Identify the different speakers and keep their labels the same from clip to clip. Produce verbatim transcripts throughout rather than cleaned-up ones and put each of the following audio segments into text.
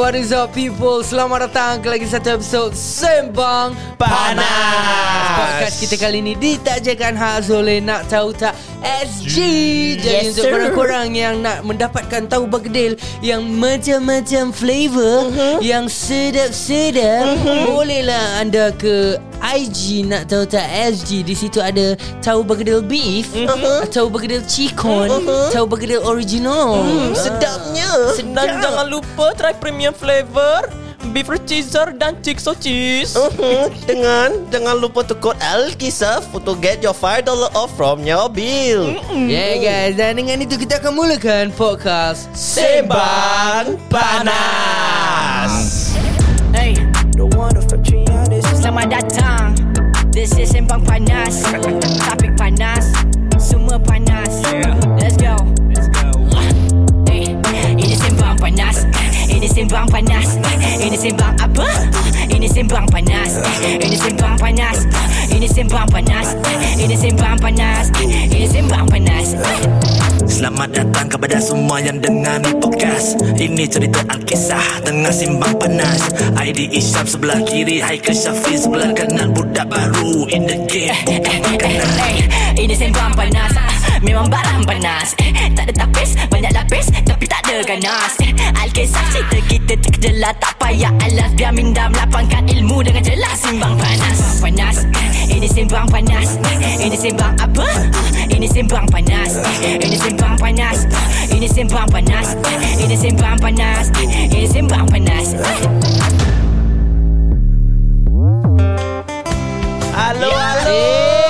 Speaker 1: what is up people? Selamat datang ke lagi satu episod Sembang Panas. Podcast kita kali ini ditajakan khas oleh Nak Tahu Tak S G. Jadi
Speaker 2: Yes,
Speaker 1: untuk
Speaker 2: sir.
Speaker 1: korang-korang yang nak mendapatkan tahu bergedil yang macam-macam flavor, uh-huh. yang sedap-sedap, uh-huh. bolehlah anda ke I G Nak Tahu Tak S G. Di situ ada tahu bergedil beef, uh-huh. tahu bergedil chicken, uh-huh. tahu bergedil original.
Speaker 2: Hmm, sedapnya.
Speaker 3: Dan jangan lupa try premium flavor beef cheeser dan chicks cheese.
Speaker 2: Uh-huh. Dengan jangan lupa tu kod Alkisah to get your five dollars off from your bill.
Speaker 1: Mm-mm. Yeah guys, dan dengan itu kita akan mulakan podcast
Speaker 2: Sembang Panas.
Speaker 4: Hey, selamat datang. This is Sembang Panas. Topik panas, semua panas. Let's go. Hey, ini Sembang Panas. Ini Sembang Panas. Ini Sembang apa? Ini Sembang Panas. Ini Sembang Panas. Ini Sembang Panas. Ini Sembang Panas. Ini Sembang Panas.
Speaker 5: Selamat datang kepada semua yang dengar ni podcast. Ini cerita Alkisah tengah simbang panas. I D Isyam sebelah kiri, Haikal Syafiq sebelah kanan. Budak baru in the game, bukan makanan.
Speaker 4: Ini Sembang Panas. Memang barang panas. Tak ada tapis, banyak lapis, tapi tak ada ganas. Alkisah cerita kita terkejelas, tak payah alas. Biar minda melapangkan ilmu dengan jelas. Simbang Panas. Panas. Ini Sembang Panas. Ini Sembang apa? Ini Sembang Panas. Ini Sembang Panas. Ini Sembang Panas. Ini Sembang Panas. Ini Sembang Panas.
Speaker 2: Halo, halo.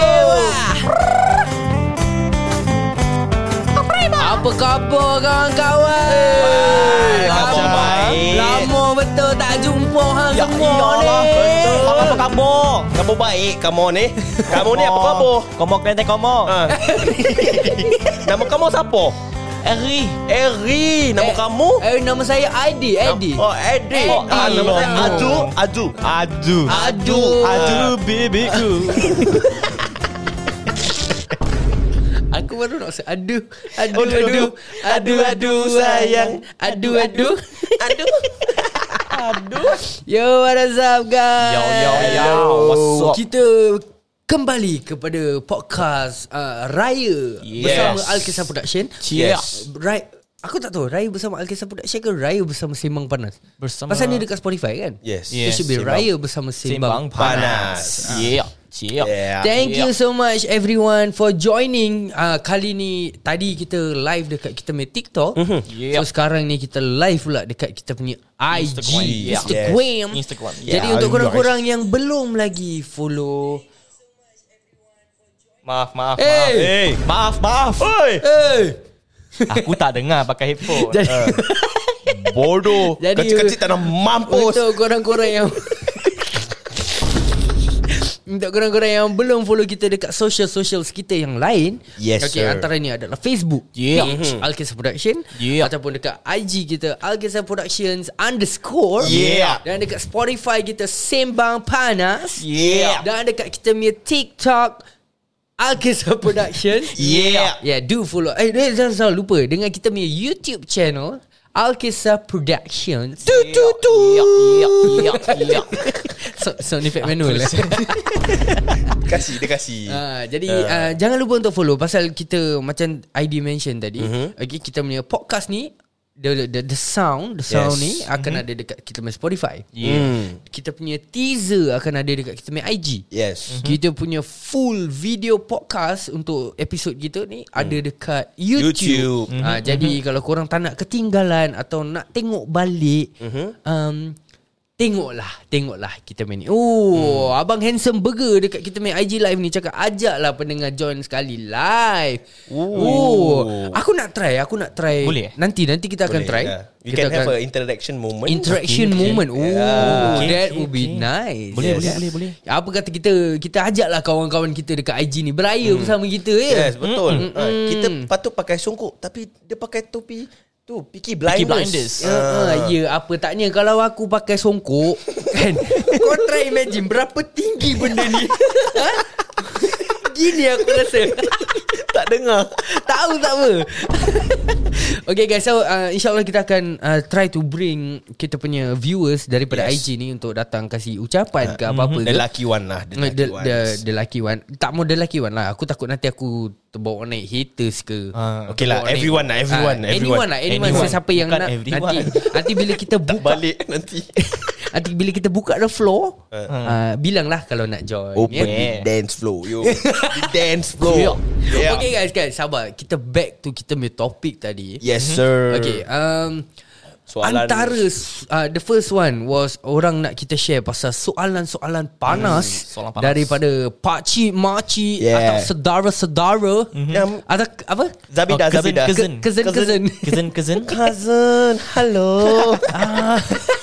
Speaker 1: Apa khabar kawan-kawan?
Speaker 2: Khabar baik.
Speaker 1: Lama betul tak jumpa hang
Speaker 2: Ya
Speaker 1: semua
Speaker 2: iyalah,
Speaker 1: ni.
Speaker 2: betul.
Speaker 3: Apa kabar?
Speaker 2: Kamu baik, kamu ni. Kamu ni apa khabar?
Speaker 3: Kamu kelente kamu.
Speaker 2: Ha. Nama kamu siapa?
Speaker 3: Eri.
Speaker 2: Eri. Nama
Speaker 1: Eh,
Speaker 2: kamu?
Speaker 1: Eh, nama saya Aidi. Aidi.
Speaker 2: Oh, Edi.
Speaker 1: Edi.
Speaker 2: Ah, nama saya
Speaker 3: Lama.
Speaker 2: Aju. Aju.
Speaker 3: Adu.
Speaker 1: Adu.
Speaker 3: Adu bibiku.
Speaker 1: Aku baru nak say adu. Adu,
Speaker 2: Oh,
Speaker 1: adu.
Speaker 2: adu.
Speaker 1: Adu, adu sayang. Adu, adu.
Speaker 2: Adu.
Speaker 3: Aduh.
Speaker 1: Yo, what is up guys?
Speaker 3: Yo, yo, yo. What's up?
Speaker 1: Kita kembali kepada podcast uh, Raya
Speaker 3: Yes.
Speaker 1: bersama Alkisah Production.
Speaker 3: Yes.
Speaker 1: Raya, aku tak tahu Raya bersama Alkisah Production ke Raya bersama Sembang Panas.
Speaker 3: Bersama-
Speaker 1: Pasal ni dekat Spotify kan?
Speaker 2: Yes.
Speaker 1: It should be
Speaker 2: Sembang
Speaker 1: Raya bersama Sembang,
Speaker 3: Simbang
Speaker 2: Panas.
Speaker 3: panas. Yeah. Siap.
Speaker 2: Yeah.
Speaker 1: Thank
Speaker 3: Yeah.
Speaker 1: you so much everyone for joining. uh, Kali ni, tadi kita live dekat kita punya TikTok.
Speaker 2: Mhm.
Speaker 3: Yeah.
Speaker 1: So sekarang ni kita live pula dekat kita punya I G
Speaker 3: Instagram. Yeah.
Speaker 1: Instagram.
Speaker 3: Instagram.
Speaker 1: Jadi
Speaker 2: Yeah,
Speaker 1: untuk
Speaker 2: guys.
Speaker 1: korang-korang yang belum lagi follow,
Speaker 3: Maaf, maaf,
Speaker 1: Hey.
Speaker 3: maaf. Hey. Maaf, maaf.
Speaker 2: Oi.
Speaker 1: hey.
Speaker 3: Aku tak dengar pakai headphone.
Speaker 1: Jadi,
Speaker 2: Bodoh.
Speaker 1: Jadi-
Speaker 2: Kecil-kecil tak nak mampus.
Speaker 1: untuk korang-korang yang Untuk korang-korang yang belum follow kita dekat social-socials kita yang lain.
Speaker 2: Yes,
Speaker 1: okay,
Speaker 2: sir.
Speaker 1: antara ni adalah Facebook,
Speaker 3: Yeah.
Speaker 1: page Alkisah Production,
Speaker 3: Yeah.
Speaker 1: ataupun dekat I G kita Alkisah Productions underscore,
Speaker 2: Yeah.
Speaker 1: dan dekat Spotify kita Sembang Panas,
Speaker 3: Yeah.
Speaker 1: dan dekat kita punya TikTok Alkisah Production.
Speaker 2: Yeah.
Speaker 1: Yeah, do follow. Eh, eh, jangan jangan lupa dengan kita punya YouTube channel Alkisah Productions.
Speaker 3: Tu tu tu. Ya, ya, ya, ya.
Speaker 1: So, sound effect manual.
Speaker 2: Kasih, dia kasih.
Speaker 1: Ah, jadi uh, jangan lupa untuk follow. Pasal kita macam I D mention tadi,
Speaker 2: Mhm.
Speaker 1: okay, kita punya podcast ni, the the, the sound, the sound
Speaker 2: Yes.
Speaker 1: ni akan ada dekat kita punya Spotify.
Speaker 3: Yeah.
Speaker 2: Hmm.
Speaker 1: Kita punya teaser akan ada dekat kita punya I G.
Speaker 2: Yes.
Speaker 1: Kita punya full video podcast untuk episod kita ni ada dekat YouTube.
Speaker 2: YouTube.
Speaker 1: Ah, jadi kalau korang tak nak ketinggalan atau nak tengok balik, um, tengoklah, tengoklah kita main ni. Oh, Abang Handsome Burger dekat kita main I G live ni cakap ajaklah pendengar join sekali live. Oh, aku nak try, aku nak try.
Speaker 3: Boleh?
Speaker 1: Nanti nanti kita akan
Speaker 2: Boleh,
Speaker 1: try.
Speaker 2: yeah. We
Speaker 1: Kita
Speaker 2: can have
Speaker 1: akan
Speaker 2: a interaction moment.
Speaker 1: interaction
Speaker 3: Okay, okay.
Speaker 1: moment. Oh,
Speaker 2: Yeah.
Speaker 3: Okay,
Speaker 1: that
Speaker 3: okay,
Speaker 1: would be
Speaker 3: okay.
Speaker 1: nice.
Speaker 3: Boleh,
Speaker 1: Yes.
Speaker 3: boleh, boleh, boleh.
Speaker 1: Apa kata kita kita ajaklah kawan-kawan kita dekat I G ni beraya bersama kita ya.
Speaker 2: Yes, betul.
Speaker 1: Mm,
Speaker 2: Ha,
Speaker 1: mm.
Speaker 2: kita patut pakai songkok tapi dia pakai topi tu Peaky
Speaker 3: Peaky
Speaker 2: Blinders.
Speaker 3: Blinders.
Speaker 1: Ya, uh, ya, apa taknya kalau aku pakai songkok kan. Kau try imagine berapa tinggi benda ni. Ha? Gini aku rasa.
Speaker 2: Tak dengar.
Speaker 1: Tahu tak apa. Okay guys, so uh, InsyaAllah kita akan uh, try to bring kita punya viewers daripada yes. I G ni untuk datang kasih ucapan uh, ke apa-apa
Speaker 2: The
Speaker 1: ke.
Speaker 2: lucky one lah. The lucky,
Speaker 1: the,
Speaker 2: ones.
Speaker 1: the, the lucky one. Tak mau the lucky one lah. Aku takut nanti aku terbawa naik haters ke.
Speaker 2: uh, Okay lah, everyone lah. Everyone,
Speaker 1: uh,
Speaker 2: everyone.
Speaker 1: Anyone lah. Anyone,
Speaker 2: anyone.
Speaker 1: Sesiapa yang
Speaker 3: Bukan
Speaker 1: nak.
Speaker 3: everyone.
Speaker 1: Nanti, nanti bila kita buka
Speaker 2: Balik nanti.
Speaker 1: Nanti bila kita buka the floor uh. Uh, bilanglah kalau nak join.
Speaker 2: Open
Speaker 1: yeah.
Speaker 2: the dance floor. Yo. The dance floor.
Speaker 1: Yeah. Okay guys, guys, sabar. Kita back to kita punya topik tadi.
Speaker 2: Yes sir.
Speaker 1: Okay, um,
Speaker 2: Soalan
Speaker 1: antara uh, the first one was orang nak kita share pasal soalan-soalan panas, hmm, soalan panas daripada pakcik, makcik yeah. atau saudara-saudara mm-hmm. atau apa?
Speaker 2: Zabida,
Speaker 3: oh, cousin,
Speaker 2: Zabida.
Speaker 3: Cousin,
Speaker 1: cousin, cousin,
Speaker 3: cousin, cousin,
Speaker 2: cousin. Hello. ah.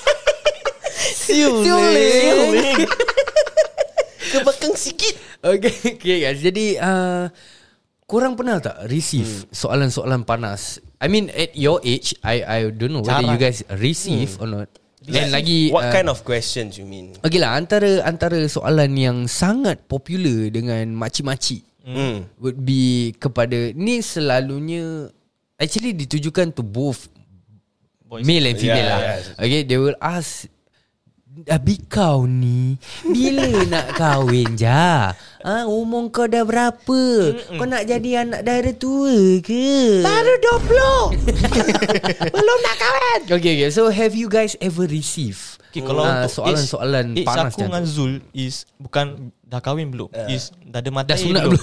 Speaker 2: Siuling. Ke belakang sikit.
Speaker 1: Okay, okay guys. Jadi uh, korang pernah tak receive hmm. soalan-soalan panas? I mean at your age, I I don't know whether Jarang. you guys receive hmm. or not. Dan lagi
Speaker 2: what
Speaker 1: uh,
Speaker 2: kind of questions you mean?
Speaker 1: Okay lah, antara antara soalan yang sangat popular dengan makcik-makcik hmm. would be kepada ni selalunya actually ditujukan to both boys, male and female yeah, lah. Yeah. Okay, they will ask, Abi kau ni bila nak kahwin je? Ha, umur kau dah berapa? Mm-mm. Kau nak jadi anak dara tua ke?
Speaker 2: Baru dua puluh. Belum nak kahwin.
Speaker 1: Okay, okay. So have you guys ever received
Speaker 3: okay, kalau
Speaker 1: uh,
Speaker 3: untuk
Speaker 1: soalan-soalan
Speaker 3: age,
Speaker 1: panas
Speaker 3: age aku dengan Zul is bukan dah kahwin belum, uh. is dah ada mata
Speaker 1: dah sunat belum.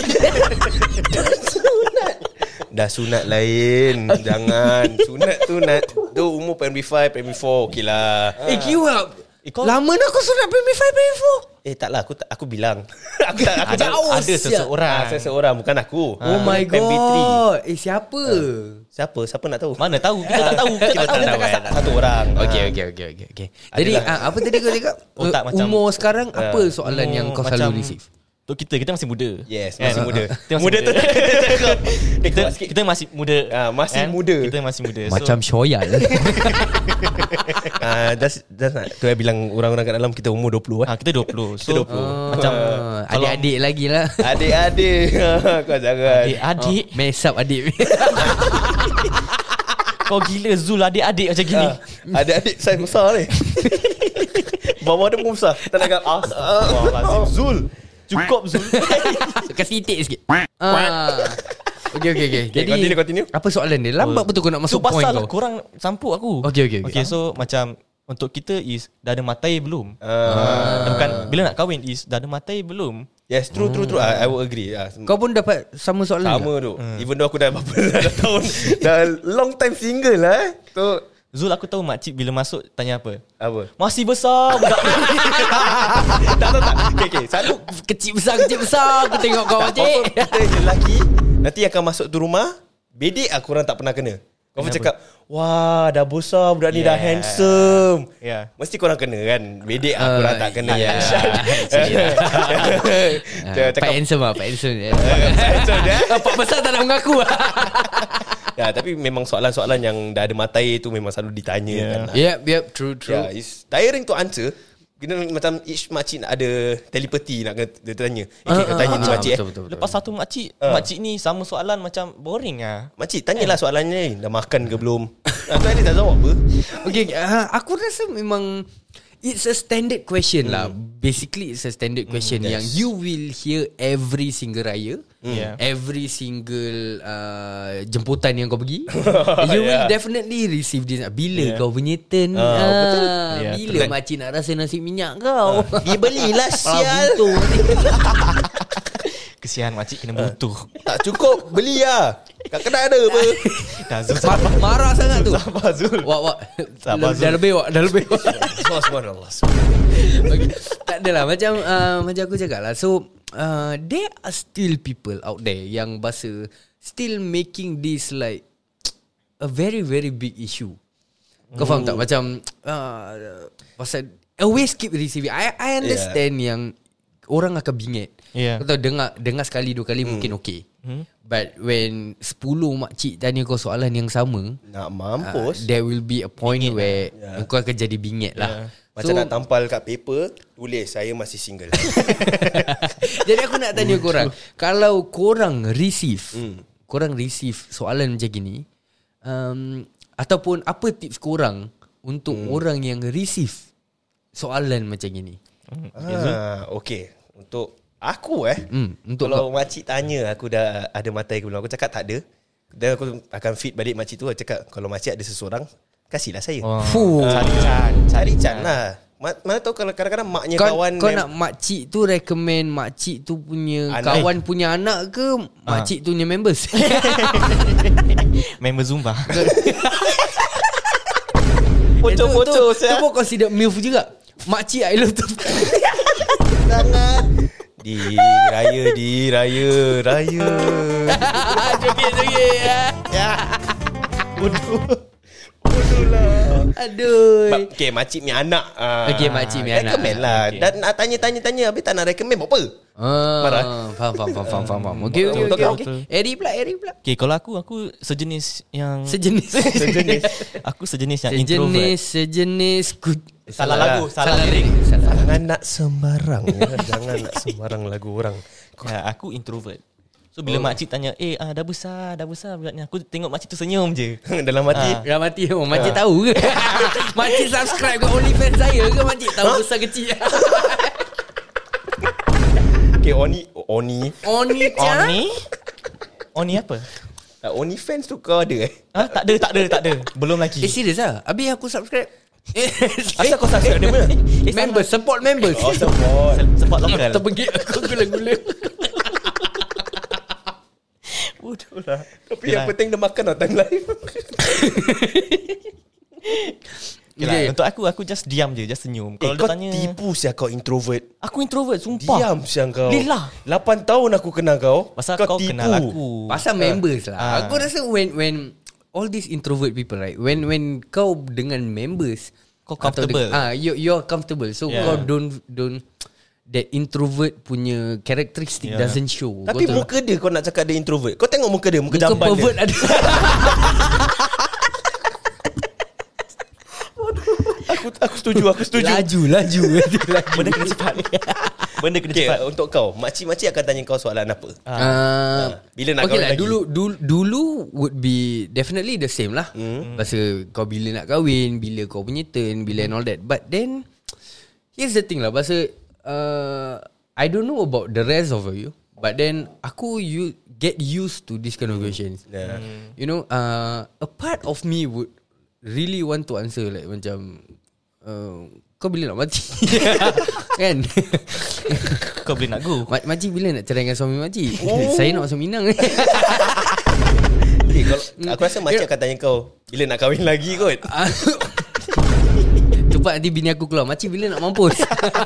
Speaker 2: Dah sunat lain. Jangan. Sunat tu nak tu umur primary five, primary four. Okey lah.
Speaker 1: Eh kiwap
Speaker 3: eh, kau...
Speaker 1: lama nak aku sunat primary five, primary four.
Speaker 2: Eh taklah, aku aku bilang. aku tak aku
Speaker 3: ada,
Speaker 2: jauh.
Speaker 3: ada seseorang.
Speaker 2: Ah, seseorang bukan aku.
Speaker 1: Oh my god. Eh siapa?
Speaker 2: Uh, siapa? Siapa nak tahu?
Speaker 3: Mana tahu? Kita tak tahu. Kita tak tahu.
Speaker 2: Satu orang.
Speaker 1: Okey okey okey okey okey. Jadi uh, apa tadi kau cakap?
Speaker 3: Oh, tak, macam,
Speaker 1: umur sekarang uh, apa soalan
Speaker 3: umur
Speaker 1: yang kau
Speaker 3: macam,
Speaker 1: selalu receive?
Speaker 3: Untuk kita, kita masih muda.
Speaker 2: Yes, masih muda.
Speaker 3: Kita masih
Speaker 2: muda
Speaker 3: muda.
Speaker 2: tu.
Speaker 3: kita, kita masih muda.
Speaker 2: Ah, masih
Speaker 3: kan?
Speaker 2: muda.
Speaker 3: Kita masih muda.
Speaker 1: Macam
Speaker 3: so,
Speaker 1: Shoyal.
Speaker 2: Ah, just just nak tu saya bilang orang-orang kat dalam kita umur dua puluh eh.
Speaker 3: Ah, kita dua puluh. So
Speaker 2: kita dua puluh.
Speaker 1: Oh,
Speaker 3: macam
Speaker 1: adik-adik lagi lah.
Speaker 2: Adik-adik. Kau jangan.
Speaker 3: Adik-adik.
Speaker 1: Oh, mess up adik.
Speaker 3: Kau gila Zul, adik-adik macam gini.
Speaker 2: Ah, adik-adik saya besar ni. Bawah dia pun besar. Tak nak as. Wah, lazim Zul. Cukup Zul.
Speaker 1: Kasih itik sikit. Ah. Okay, okay, okay. Jadi
Speaker 2: continue, continue.
Speaker 1: apa soalan dia? Lambat betul kau nak masuk
Speaker 3: so,
Speaker 1: point
Speaker 3: pasal
Speaker 1: kau.
Speaker 3: korang sampuk aku.
Speaker 1: Okay, okay, okay.
Speaker 3: Okay, so macam untuk kita is dah ada matai belum?
Speaker 2: Ah.
Speaker 3: Dan bukan bila nak kahwin is dah ada matai belum?
Speaker 2: Yes, true, true, true. I, I will agree. Ah,
Speaker 1: Kau pun dapat sama soalan
Speaker 2: sama
Speaker 1: juga?
Speaker 2: tu. Hmm. Even though aku dah berapa dah tahun, dah long time single lah. Eh. So
Speaker 3: Zul, aku tahu makcik bila masuk tanya apa?
Speaker 2: apa?
Speaker 3: Masih besar budak.
Speaker 2: tak, tak, tak. Okay, okay. Selalu
Speaker 1: Kecil besar, kecil besar. Aku tengok kau makcik.
Speaker 2: kita je lelaki nanti akan masuk tu rumah, bedek aku orang tak pernah kena. Kau pun cakap, wah dah besar budak ni,
Speaker 3: Yeah.
Speaker 2: dah handsome.
Speaker 3: Yeah.
Speaker 2: Mesti korang kena kan. Bedek aku orang tak kena.
Speaker 1: Ya. Pak handsome lah, Pak handsome.
Speaker 2: Handsome je.
Speaker 1: Pak besar tak nak mengaku.
Speaker 2: Ya, tapi memang soalan-soalan yang dah ada matai tu memang selalu ditanya
Speaker 3: Yeah.
Speaker 2: kan.
Speaker 1: Yep, yep, true, true.
Speaker 2: Yeah, it's tiring to answer. Kena macam each makcik nak ada telepati nak kena dia tanya. Eh,
Speaker 1: Ah,
Speaker 2: kau tanya
Speaker 1: ah,
Speaker 2: ni
Speaker 1: ah,
Speaker 2: makcik
Speaker 1: betul,
Speaker 2: eh.
Speaker 1: betul, betul.
Speaker 3: Lepas satu makcik,
Speaker 2: Ah.
Speaker 3: makcik ni sama soalan macam boring ah.
Speaker 2: Makcik, tanyalah soalannya ni. Dah makan ke belum? Ah, tu ni dah jawab apa?
Speaker 1: Okay, uh, aku rasa memang it's a standard question lah. Basically it's a standard question
Speaker 2: yes.
Speaker 1: yang you will hear every single raya,
Speaker 3: Yeah.
Speaker 1: every single uh, jemputan yang kau pergi. You will
Speaker 2: Yeah.
Speaker 1: definitely receive this. Bila
Speaker 3: Yeah.
Speaker 1: kau punya turn?
Speaker 2: Ah,
Speaker 1: Ah,
Speaker 2: betul.
Speaker 3: Yeah,
Speaker 1: bila
Speaker 3: betul.
Speaker 1: makcik nak rasa nasi minyak kau?
Speaker 2: Dia belilah sial.
Speaker 1: Buntung.
Speaker 3: Kesian makcik kena buntu.
Speaker 2: Tak cukup, beli lah. Kat kedai ada apa?
Speaker 3: Dah Zul
Speaker 1: Mar- marah sangat tu.
Speaker 3: sabar Zul.
Speaker 1: Wak, wak.
Speaker 3: Sabar,
Speaker 1: Dah lebih, wak. Dah lebih, wak.
Speaker 2: Subhanallah.
Speaker 1: Okay. Tak adalah macam uh, macam aku cakap lah. So uh, there are still people out there yang bahasa still making this like a very very big issue. Kau faham tak? Macam uh, pasal always keep receiving. I I understand yeah. yang orang akan bingit.
Speaker 3: Yeah.
Speaker 1: Kau tahu dengar dengar sekali dua kali hmm. mungkin okey. Hmm. But when sepuluh makcik tanya kau soalan yang sama,
Speaker 2: Nak mampus.
Speaker 1: uh, there will be a point
Speaker 3: bingit
Speaker 1: where
Speaker 2: lah.
Speaker 1: yeah. kau akan jadi bingit lah.
Speaker 3: Yeah.
Speaker 2: Macam so, nak tampal kat paper, tulis saya masih single.
Speaker 1: Jadi aku nak tanya korang, kalau korang receive hmm. korang receive soalan macam gini, um, ataupun apa tips korang untuk hmm. orang yang receive soalan macam gini?
Speaker 2: Hmm. Ah, okay. Untuk aku eh hmm. untuk kalau kau. Makcik tanya aku dah ada mata air belum, aku cakap tak ada. Dan aku akan feed balik makcik tu. Aku cakap kalau makcik ada seseorang, kasihlah saya.
Speaker 1: Oh.
Speaker 2: Uh, cari can Cari can lah. Mana tahu kalau kadang-kadang maknya
Speaker 1: kau,
Speaker 2: kawan
Speaker 1: Kau mem- nak makcik tu recommend makcik tu punya anak. Kawan punya anak ke makcik tu punya members?
Speaker 3: Member Zumba.
Speaker 2: Bocor-bocor
Speaker 1: tu, tu, tu pun consider MILF juga. Makcik I love tu.
Speaker 2: Sangat. Di raya, di raya, raya.
Speaker 1: Joget-joget ya.
Speaker 2: Ya. Bodoh. Bodoh lah.
Speaker 1: Aduh.
Speaker 2: Okay, makcik mi anak. uh,
Speaker 1: Okay, makcik mi anak.
Speaker 2: Recommend lah. Okay. Dan nak tanya-tanya-tanya, habis tak nak recommend apa?
Speaker 1: Ah,
Speaker 2: marah.
Speaker 1: Faham, faham, faham, faham, faham. Okay, okay, okay, okay. Eri pula, Eri pula.
Speaker 3: Okay, kalau aku, aku sejenis yang
Speaker 1: Sejenis.
Speaker 2: Sejenis.
Speaker 3: Aku sejenis yang
Speaker 1: sejenis,
Speaker 3: introvert.
Speaker 1: Sejenis, good.
Speaker 3: Salah lagu, salah, salah lirik.
Speaker 1: Salah.
Speaker 2: Jangan nak sembarang ya. Jangan nak sembarang lagu orang.
Speaker 3: Ya, aku introvert. So bila oh. makcik tanya, "Eh, ah, dah besar, dah besar budak ni." Aku tengok makcik tu senyum je.
Speaker 2: Dalam hati.
Speaker 3: Ah.
Speaker 1: Dalam hati. Oh, makcik ah. tahu ke? Makcik subscribe ke OnlyFans saya ke? Makcik tahu besar kecil.
Speaker 2: Okay, Oni Oni
Speaker 1: Oni-chan?
Speaker 3: Oni? Oni apa?
Speaker 2: uh, OnlyFans tu kau ada eh?
Speaker 3: Ah, tak ada, tak ada, tak ada. Belum lagi.
Speaker 1: Eh, serius lah? Habis aku subscribe.
Speaker 2: Asal kau subscribe dia mana?
Speaker 3: Eh,
Speaker 1: Members, support members.
Speaker 2: Oh, support.
Speaker 3: Support lokal.
Speaker 1: Terbenggit aku gula-gula.
Speaker 2: Bodoh lah. Tapi Yalah. yang penting dia makan time live.
Speaker 3: Okay. Untuk aku, aku just diam je, just senyum.
Speaker 2: Eh,
Speaker 3: Kalau
Speaker 2: kau
Speaker 3: dia tanya,
Speaker 2: tipu siya kau introvert.
Speaker 3: Aku introvert, sumpah.
Speaker 2: Diam siya kau.
Speaker 3: Lillah.
Speaker 2: lapan tahun aku kenal kau.
Speaker 3: Pasal
Speaker 2: kau,
Speaker 3: kau
Speaker 2: tipu.
Speaker 3: kenal aku.
Speaker 1: Pasal members lah.
Speaker 3: Ah.
Speaker 1: Aku rasa when when all these introvert people, right? When when kau dengan members,
Speaker 3: kau comfortable.
Speaker 1: Ah, you you're comfortable. So
Speaker 3: Yeah.
Speaker 1: kau don't don't that introvert punya characteristic
Speaker 3: Yeah.
Speaker 1: doesn't show.
Speaker 2: Tapi
Speaker 1: Betul
Speaker 2: muka dia kau nak cakap dia introvert. Kau tengok muka dia, muka,
Speaker 1: muka
Speaker 2: jamban
Speaker 1: pervert
Speaker 2: dia.
Speaker 1: ada.
Speaker 2: Aku aku setuju, aku setuju.
Speaker 1: Laju, laju.
Speaker 3: Benda kena cepat. Benda kena
Speaker 2: Okay,
Speaker 3: cepat.
Speaker 2: untuk kau, makcik-makcik akan tanya kau soalan apa?
Speaker 1: Uh,
Speaker 2: Bila nak
Speaker 1: okay
Speaker 2: kahwin
Speaker 1: lah,
Speaker 2: lagi?
Speaker 1: dulu, dulu dulu would be definitely the same lah. Mm. Pasal kau bila nak kahwin, bila kau punya turn, bila and all that. But then here's the thing lah, pasal uh, I don't know about the rest of you, but then aku you get used to this kind of questions.
Speaker 2: Yeah.
Speaker 1: You know, uh, a part of me would really want to answer like macam uh, kau bila nak mati? Kan?
Speaker 3: Kau boleh nak go.
Speaker 1: Mak- makcik bila nak cerai dengan suami makcik? Oh. Saya nak masuk Minang.
Speaker 2: Okay, kalau, aku rasa makcik akan tanya kau bila nak kahwin lagi kot.
Speaker 1: Cepat nanti bini aku keluar, makcik bila nak mampus?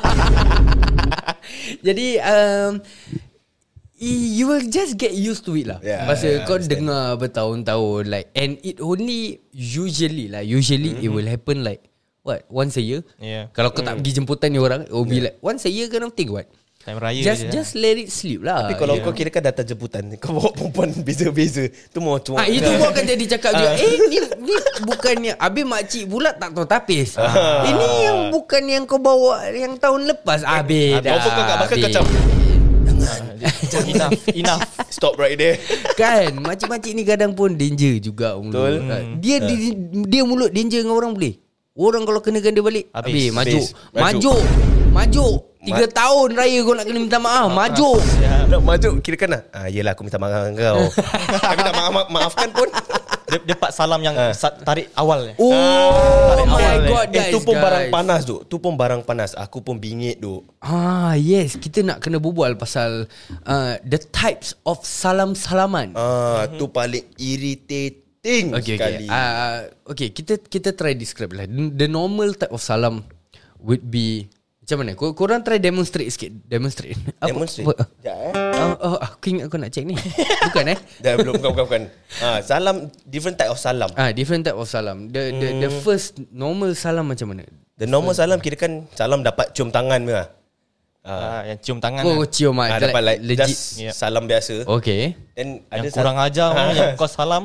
Speaker 1: Jadi um, you will just get used to it lah.
Speaker 2: Yeah,
Speaker 1: Pasal
Speaker 2: yeah,
Speaker 1: kau
Speaker 2: understand.
Speaker 1: dengar bertahun-tahun like, and it only usually lah Usually mm-hmm. it will happen like what, once a year.
Speaker 3: Yeah.
Speaker 1: Kalau kau tak
Speaker 2: Mm.
Speaker 1: pergi jemputan ni orang, it will be
Speaker 2: Yeah.
Speaker 1: like once a year kind of thing. What,
Speaker 3: Time raya
Speaker 1: Just
Speaker 3: je
Speaker 1: just let it sleep lah.
Speaker 2: Tapi kalau
Speaker 1: Yeah.
Speaker 2: kau kira kan datang jemputan, kau bawa perempuan beza-beza, tu mau cuma.
Speaker 1: Ah, itu pun akan jadi cakap juga. Eh ni ni bukannya habis makcik pula tak tahu tapis.
Speaker 2: Ah.
Speaker 1: Ini yang bukan yang kau bawa yang tahun lepas. Habis dah.
Speaker 2: Kau pun kau kat belakang kau macam
Speaker 3: Enough, enough.
Speaker 2: stop right there.
Speaker 1: Kan, makcik-makcik ni kadang pun danger juga.
Speaker 2: Betul.
Speaker 1: Hmm. Dia, dia dia mulut danger dengan orang boleh. Orang kalau kenakan dia balik,
Speaker 3: Habis.
Speaker 1: habis, maju.
Speaker 2: Habis.
Speaker 1: Maju. Maju. Tiga
Speaker 2: Ma-
Speaker 1: tahun raya kau nak kena minta maaf. Maju.
Speaker 2: Nak maju kira kan lah. Ah, yelah aku minta maaf dengan kau. Tapi tak maaf, maafkan pun.
Speaker 3: Dia, dia part salam yang
Speaker 2: Ah.
Speaker 3: sa- tarik awal.
Speaker 1: Oh
Speaker 3: Tarik
Speaker 1: my
Speaker 3: awal,
Speaker 1: god,
Speaker 2: Eh
Speaker 1: guys.
Speaker 2: tu pun
Speaker 1: guys.
Speaker 2: barang panas tu. Tu pun barang panas. Aku pun bingit tu.
Speaker 1: Ah, yes, kita nak kena berbual pasal uh, the types of salam-salaman.
Speaker 2: Ah, tu paling irritating
Speaker 1: Okay,
Speaker 2: sekali.
Speaker 1: okay. Uh, okay, kita kita try describe lah. The normal type of salam would be macam mana? Kor- korang try demonstrate sikit. Demonstrate. Apa-
Speaker 2: Demonstrate.
Speaker 1: apa-
Speaker 2: Sekejap eh.
Speaker 1: Oh, oh, aku ingat kau nak check ni. Bukan eh?
Speaker 2: Dah belum bukan bukan. bukan. Ah, salam different type of salam.
Speaker 1: Ah, different type of salam. The the the first normal salam macam mana?
Speaker 2: The normal salam kira kan salam dapat cium tangan ke? Ah,
Speaker 3: Ah, yang cium tangan.
Speaker 1: Oh,
Speaker 3: lah.
Speaker 1: cium
Speaker 2: ah,
Speaker 1: ah,
Speaker 2: dapat like
Speaker 1: legit.
Speaker 2: just
Speaker 3: Yep.
Speaker 2: salam biasa.
Speaker 1: Okay.
Speaker 2: Then
Speaker 3: Yang
Speaker 2: ada
Speaker 3: kurang
Speaker 2: sal-
Speaker 3: ajar orang yang kau salam,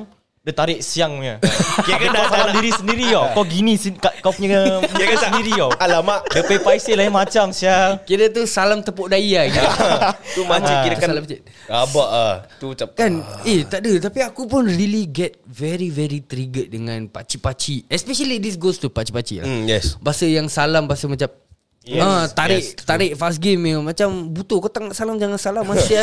Speaker 3: Dia tarik siang punya. Kira kan dah salam diri sendiri tau. Kau gini kau punya kira kan sendiri tau.
Speaker 2: Alamak.
Speaker 3: Dia pay paisi lain macam sial.
Speaker 1: Kira tu salam tepuk daya gitu.
Speaker 2: Tu makcik kira kan
Speaker 1: salam cik.
Speaker 2: Rabak ah. Tu macam
Speaker 1: Kan eh tak ada. Tapi aku pun really get very very triggered dengan pakcik-pakcik. Especially this goes to pakcik-pakcik lah.
Speaker 2: mm, yes.
Speaker 1: Bahasa yang salam, bahasa macam
Speaker 2: Yes,
Speaker 1: ah, tarik
Speaker 2: yes,
Speaker 1: tarik fast game ya. Macam butuh kau tak nak salam jangan salam masih.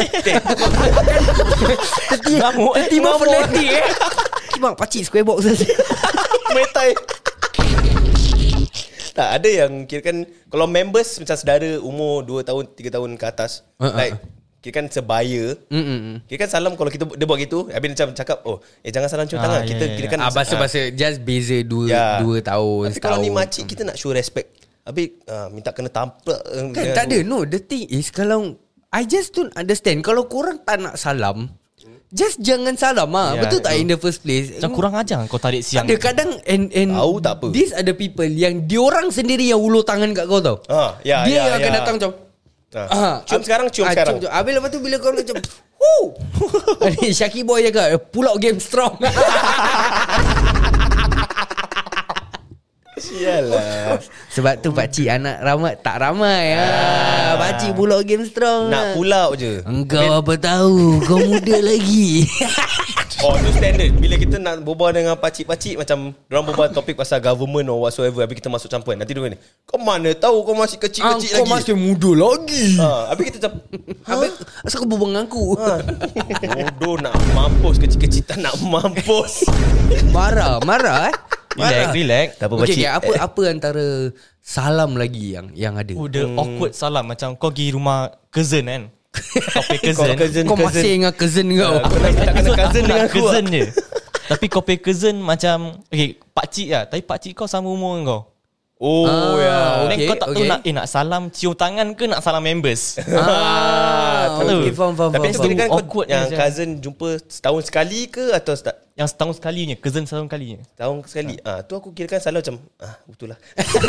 Speaker 1: Teti
Speaker 3: Ngamuk, eh.
Speaker 1: Teti mau
Speaker 3: Ngamuk.
Speaker 1: fanatik eh. Bang pakcik square box saja.
Speaker 2: Metai. Tak ada yang kira kan kalau members macam saudara umur dua tahun tiga tahun ke atas,
Speaker 1: Uh, uh,
Speaker 2: like kira kan sebaya.
Speaker 1: Mm-mm.
Speaker 2: Kira kan salam kalau kita dia buat gitu, habis dia macam cakap, "Oh, eh jangan salam cium
Speaker 3: Ah,
Speaker 2: tangan."
Speaker 3: ya,
Speaker 2: Kita
Speaker 3: ya,
Speaker 2: kira
Speaker 3: ya.
Speaker 2: kan
Speaker 1: Ah, bahasa-bahasa just beza dua
Speaker 2: Ya.
Speaker 1: dua tahun
Speaker 2: Tapi
Speaker 1: setahun.
Speaker 2: kalau ni makcik kita nak show respect. Habis uh, minta kena tampak
Speaker 1: Kan tak ada. No, the thing is kalau I just don't understand. Kalau korang tak nak salam, just jangan salam ah.
Speaker 3: Ya,
Speaker 1: Betul tak
Speaker 3: betul.
Speaker 1: in the first place?
Speaker 3: Macam kurang ajar kau tarik siang.
Speaker 1: Ada kadang and, and
Speaker 2: Tahu tak apa.
Speaker 1: these are the people yang diorang sendiri yang ulur tangan kat kau tau.
Speaker 2: Ah, ya,
Speaker 1: Dia
Speaker 2: ya,
Speaker 1: yang akan
Speaker 2: ya.
Speaker 1: datang macam
Speaker 2: Ah.
Speaker 1: ah,
Speaker 2: Cium sekarang, cium
Speaker 1: ah,
Speaker 2: sekarang.
Speaker 1: cium. Habis lepas tu bila kau macam Woo! Ni Syaki boy cakap pull out game strong.
Speaker 2: Sialah.
Speaker 1: Sebab tu pakcik anak ramai tak ramai ah. Pakcik pull out game strong.
Speaker 2: Nak pull out je.
Speaker 1: Engkau apa tahu, kau muda lagi.
Speaker 2: Oh, tu standard. Bila kita nak berbual dengan pakcik-pakcik, macam dorang berbual topik pasal government or whatsoever, habis kita masuk campur. Nanti dia ni, kau mana tahu kau masih kecil-kecil
Speaker 1: Ah, kau
Speaker 2: lagi.
Speaker 1: masih muda lagi.
Speaker 2: Ha, habis kita macam,
Speaker 1: Habis asal kau berbual dengan aku?
Speaker 2: ha, bodoh nak mampus, kecil-kecil tak nak mampus.
Speaker 1: Marah, marah eh.
Speaker 3: Relax, relax.
Speaker 2: Tak apa
Speaker 1: Okay,
Speaker 2: pakcik.
Speaker 1: okay, apa apa antara salam lagi yang yang ada?
Speaker 3: Oh, the awkward salam macam kau pergi rumah cousin kan. Kau pay cousin.
Speaker 2: Kau cousin,
Speaker 1: Kau
Speaker 2: cousin.
Speaker 1: masih dengan cousin kau.
Speaker 2: Kau nak tak kena cousin dengan aku.
Speaker 3: cousin je. Tapi kau pay cousin macam okay, pakcik lah. Tapi pakcik kau sama umur dengan kau.
Speaker 2: Oh,
Speaker 1: Ah,
Speaker 2: ya.
Speaker 3: Then
Speaker 1: okay,
Speaker 3: kau tak tahu
Speaker 1: okay.
Speaker 3: nak eh nak salam cium tangan ke nak salam members.
Speaker 1: Ah,
Speaker 3: Tahu.
Speaker 1: okay, faham, faham,
Speaker 2: Tapi
Speaker 1: faham,
Speaker 2: kira
Speaker 1: faham.
Speaker 2: kan kau
Speaker 3: awkward
Speaker 2: yang
Speaker 3: macam.
Speaker 2: cousin jumpa setahun sekali ke atau seta-
Speaker 3: Yang setahun sekalinya, cousin setahun sekalinya.
Speaker 2: setahun sekali? Ah, tu aku kira kan selalu macam, ah, betul lah.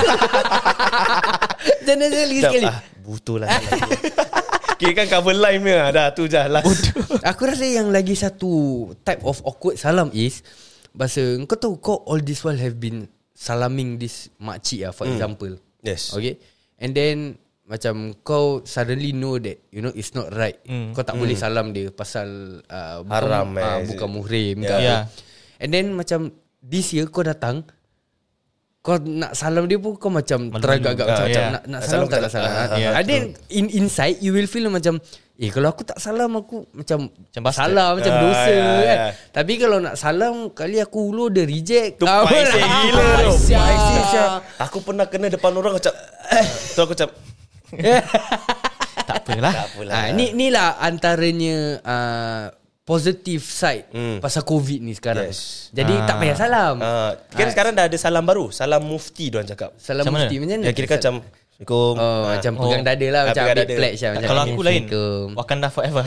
Speaker 1: Jangan sekali sekali.
Speaker 2: Ah, betul lah. Kira kan cover line dia. Dah tu je lah.
Speaker 1: Aku rasa yang lagi satu type of awkward salam is bahasa kau tahu kau all this while have been salaming this makcik lah, for example.
Speaker 2: Yes.
Speaker 1: Okay. And then macam kau suddenly know that you know it's not right.
Speaker 3: Mm.
Speaker 1: Kau tak boleh salam dia pasal uh, bukan,
Speaker 2: Haram,
Speaker 1: uh,
Speaker 2: eh.
Speaker 1: bukan muhrim ke
Speaker 2: Yeah.
Speaker 1: apa.
Speaker 3: Yeah.
Speaker 1: And then macam this year kau datang, kau nak salam dia pun kau macam
Speaker 3: Malu-malu.
Speaker 1: teragak-agak macam,
Speaker 3: Ah,
Speaker 1: macam
Speaker 3: yeah.
Speaker 1: nak, nak
Speaker 2: Nak
Speaker 1: salam
Speaker 2: salam
Speaker 1: tak nak
Speaker 2: tak
Speaker 1: salam.
Speaker 2: nak.
Speaker 1: Ah,
Speaker 3: Yeah,
Speaker 1: And then in inside you will feel macam eh kalau aku tak salam aku macam,
Speaker 3: Macam bastard.
Speaker 1: salah macam
Speaker 2: Ah,
Speaker 1: dosa
Speaker 2: yeah,
Speaker 1: kan.
Speaker 2: yeah.
Speaker 1: Tapi kalau nak salam kali aku ulur dia reject.
Speaker 2: Tu
Speaker 1: Ah,
Speaker 2: paiseh
Speaker 1: lah.
Speaker 2: gila tu.
Speaker 1: Paiseh.
Speaker 2: Paiseh Syah. Aku pernah kena depan orang macam, tu aku macam,
Speaker 3: Tak apalah.
Speaker 2: tak apalah.
Speaker 1: Ah, ni ni lah antaranya uh, positive side
Speaker 2: Hmm.
Speaker 1: pasal COVID ni sekarang.
Speaker 2: Yes.
Speaker 1: Jadi
Speaker 3: Ah.
Speaker 1: tak payah salam.
Speaker 2: Ah, kan sekarang dah ada salam baru. Salam mufti diorang cakap.
Speaker 1: Salam
Speaker 3: Macam mana?
Speaker 1: mufti macam mana?
Speaker 2: Yang kira kan macam, Assalamualaikum.
Speaker 1: Oh,
Speaker 2: Ah.
Speaker 1: macam
Speaker 3: Oh.
Speaker 1: pegang dada lah,
Speaker 2: Ah,
Speaker 1: macam
Speaker 2: pegang
Speaker 1: ambil
Speaker 2: dada.
Speaker 1: pledge lah. Macam
Speaker 3: Kalau aku lain,
Speaker 1: Assalamualaikum.
Speaker 3: Wakanda forever.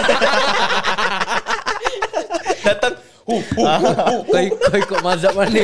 Speaker 2: Datang, hu, hu, hu, hu.
Speaker 1: Kau, kau ikut mazhab mana?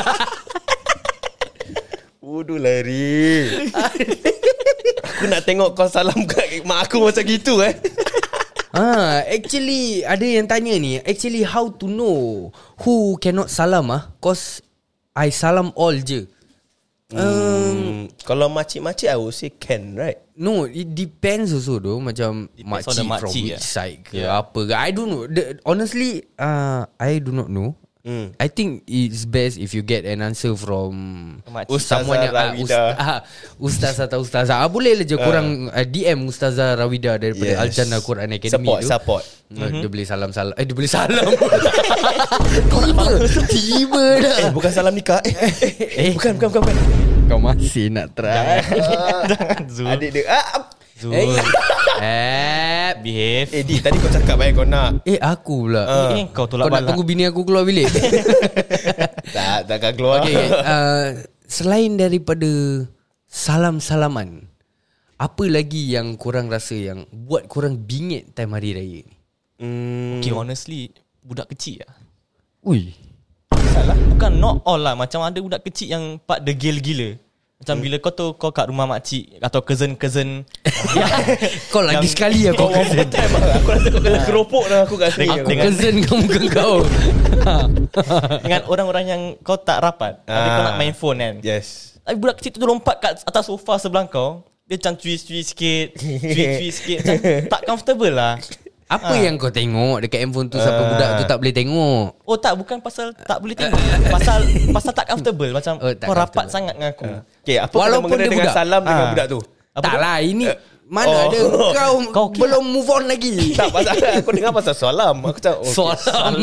Speaker 2: Wudu lari. Aku nak tengok kau salam kat mak aku macam gitu eh.
Speaker 1: Ah, actually ada yang tanya ni, actually how to know who cannot salam ah? Cause I salam all je.
Speaker 2: Um, kalau makcik-makcik I would say can, right?
Speaker 1: No, it depends also though. Macam
Speaker 3: Depends on
Speaker 1: makcik
Speaker 3: the
Speaker 1: from
Speaker 3: makcik,
Speaker 1: which
Speaker 3: yeah.
Speaker 1: side ke
Speaker 3: Yeah.
Speaker 1: apa ke. I don't know. The, honestly, uh, I do not know.
Speaker 2: Hmm.
Speaker 1: I think it's best if you get an answer from
Speaker 3: Makcik.
Speaker 2: Ustazah
Speaker 1: someone yang ah,
Speaker 2: Rawida.
Speaker 1: ust- ah, ustaz atau ustazah. Ah, boleh lah je korang uh, D M Ustazah Rawida daripada
Speaker 2: Yes.
Speaker 1: Al-Jannah Quran Academy
Speaker 2: Support,
Speaker 1: tu.
Speaker 2: support.
Speaker 1: Uh, Dia boleh salam-salam. Eh, dia boleh salam. Tiba, tiba dah.
Speaker 2: Eh, bukan salam nikah. Eh, eh, eh, bukan, bukan, bukan, bukan.
Speaker 1: Kau masih nak try.
Speaker 3: Jangan Zul.
Speaker 2: Adik dia. Ah,
Speaker 3: Zul.
Speaker 1: Eh, eh,
Speaker 3: Behave.
Speaker 2: eh, Di, tadi kau cakap eh kau nak.
Speaker 1: eh aku pula.
Speaker 2: Ah.
Speaker 3: Eh, kau tolak
Speaker 1: Kau nak
Speaker 3: balak.
Speaker 1: tunggu bini aku keluar bilik?
Speaker 2: Tak, takkan keluar.
Speaker 1: Okay, okay. Uh, selain daripada salam-salaman, apa lagi yang korang rasa yang buat korang bingit time hari raya ni?
Speaker 2: Hmm,
Speaker 3: Okay, honestly, budak kecil lah.
Speaker 1: Ui.
Speaker 3: Salah. Bukan not all lah. Macam ada budak kecil yang part degil gila. Macam hmm. bila kau tu kau kat rumah makcik atau cousin-cousin
Speaker 1: Kau lagi sekali ya kau cousin.
Speaker 2: Aku rasa kau kena keropok dah aku kat sini.
Speaker 1: Aku cousin kamu ke kau.
Speaker 3: Dengan orang-orang yang kau tak rapat. Tapi kau nak main phone kan.
Speaker 2: Yes.
Speaker 3: Tapi budak kecil tu lompat kat atas sofa sebelah kau. Dia macam cuis-cuis sikit, cuis-cuis sikit. Macam tak comfortable lah.
Speaker 1: Apa yang kau tengok dekat handphone tu sampai budak tu tak boleh tengok?
Speaker 3: Oh tak, bukan pasal tak boleh tengok. Pasal pasal tak comfortable. Macam
Speaker 1: Oh, tak
Speaker 3: kau rapat
Speaker 1: comfortable.
Speaker 3: sangat dengan aku.
Speaker 2: Okay, apa
Speaker 1: Walaupun
Speaker 2: kena mengena
Speaker 1: dia
Speaker 2: dengan
Speaker 1: budak.
Speaker 2: salam dengan
Speaker 3: Ah.
Speaker 2: budak tu?
Speaker 3: Apa
Speaker 1: Tak
Speaker 3: tu?
Speaker 1: lah, ini mana
Speaker 2: Oh.
Speaker 1: ada kau,
Speaker 3: Kau okay
Speaker 1: belum move on lagi.
Speaker 2: Tak pasal aku dengar pasal salam. Aku cakap okay.
Speaker 1: Salam.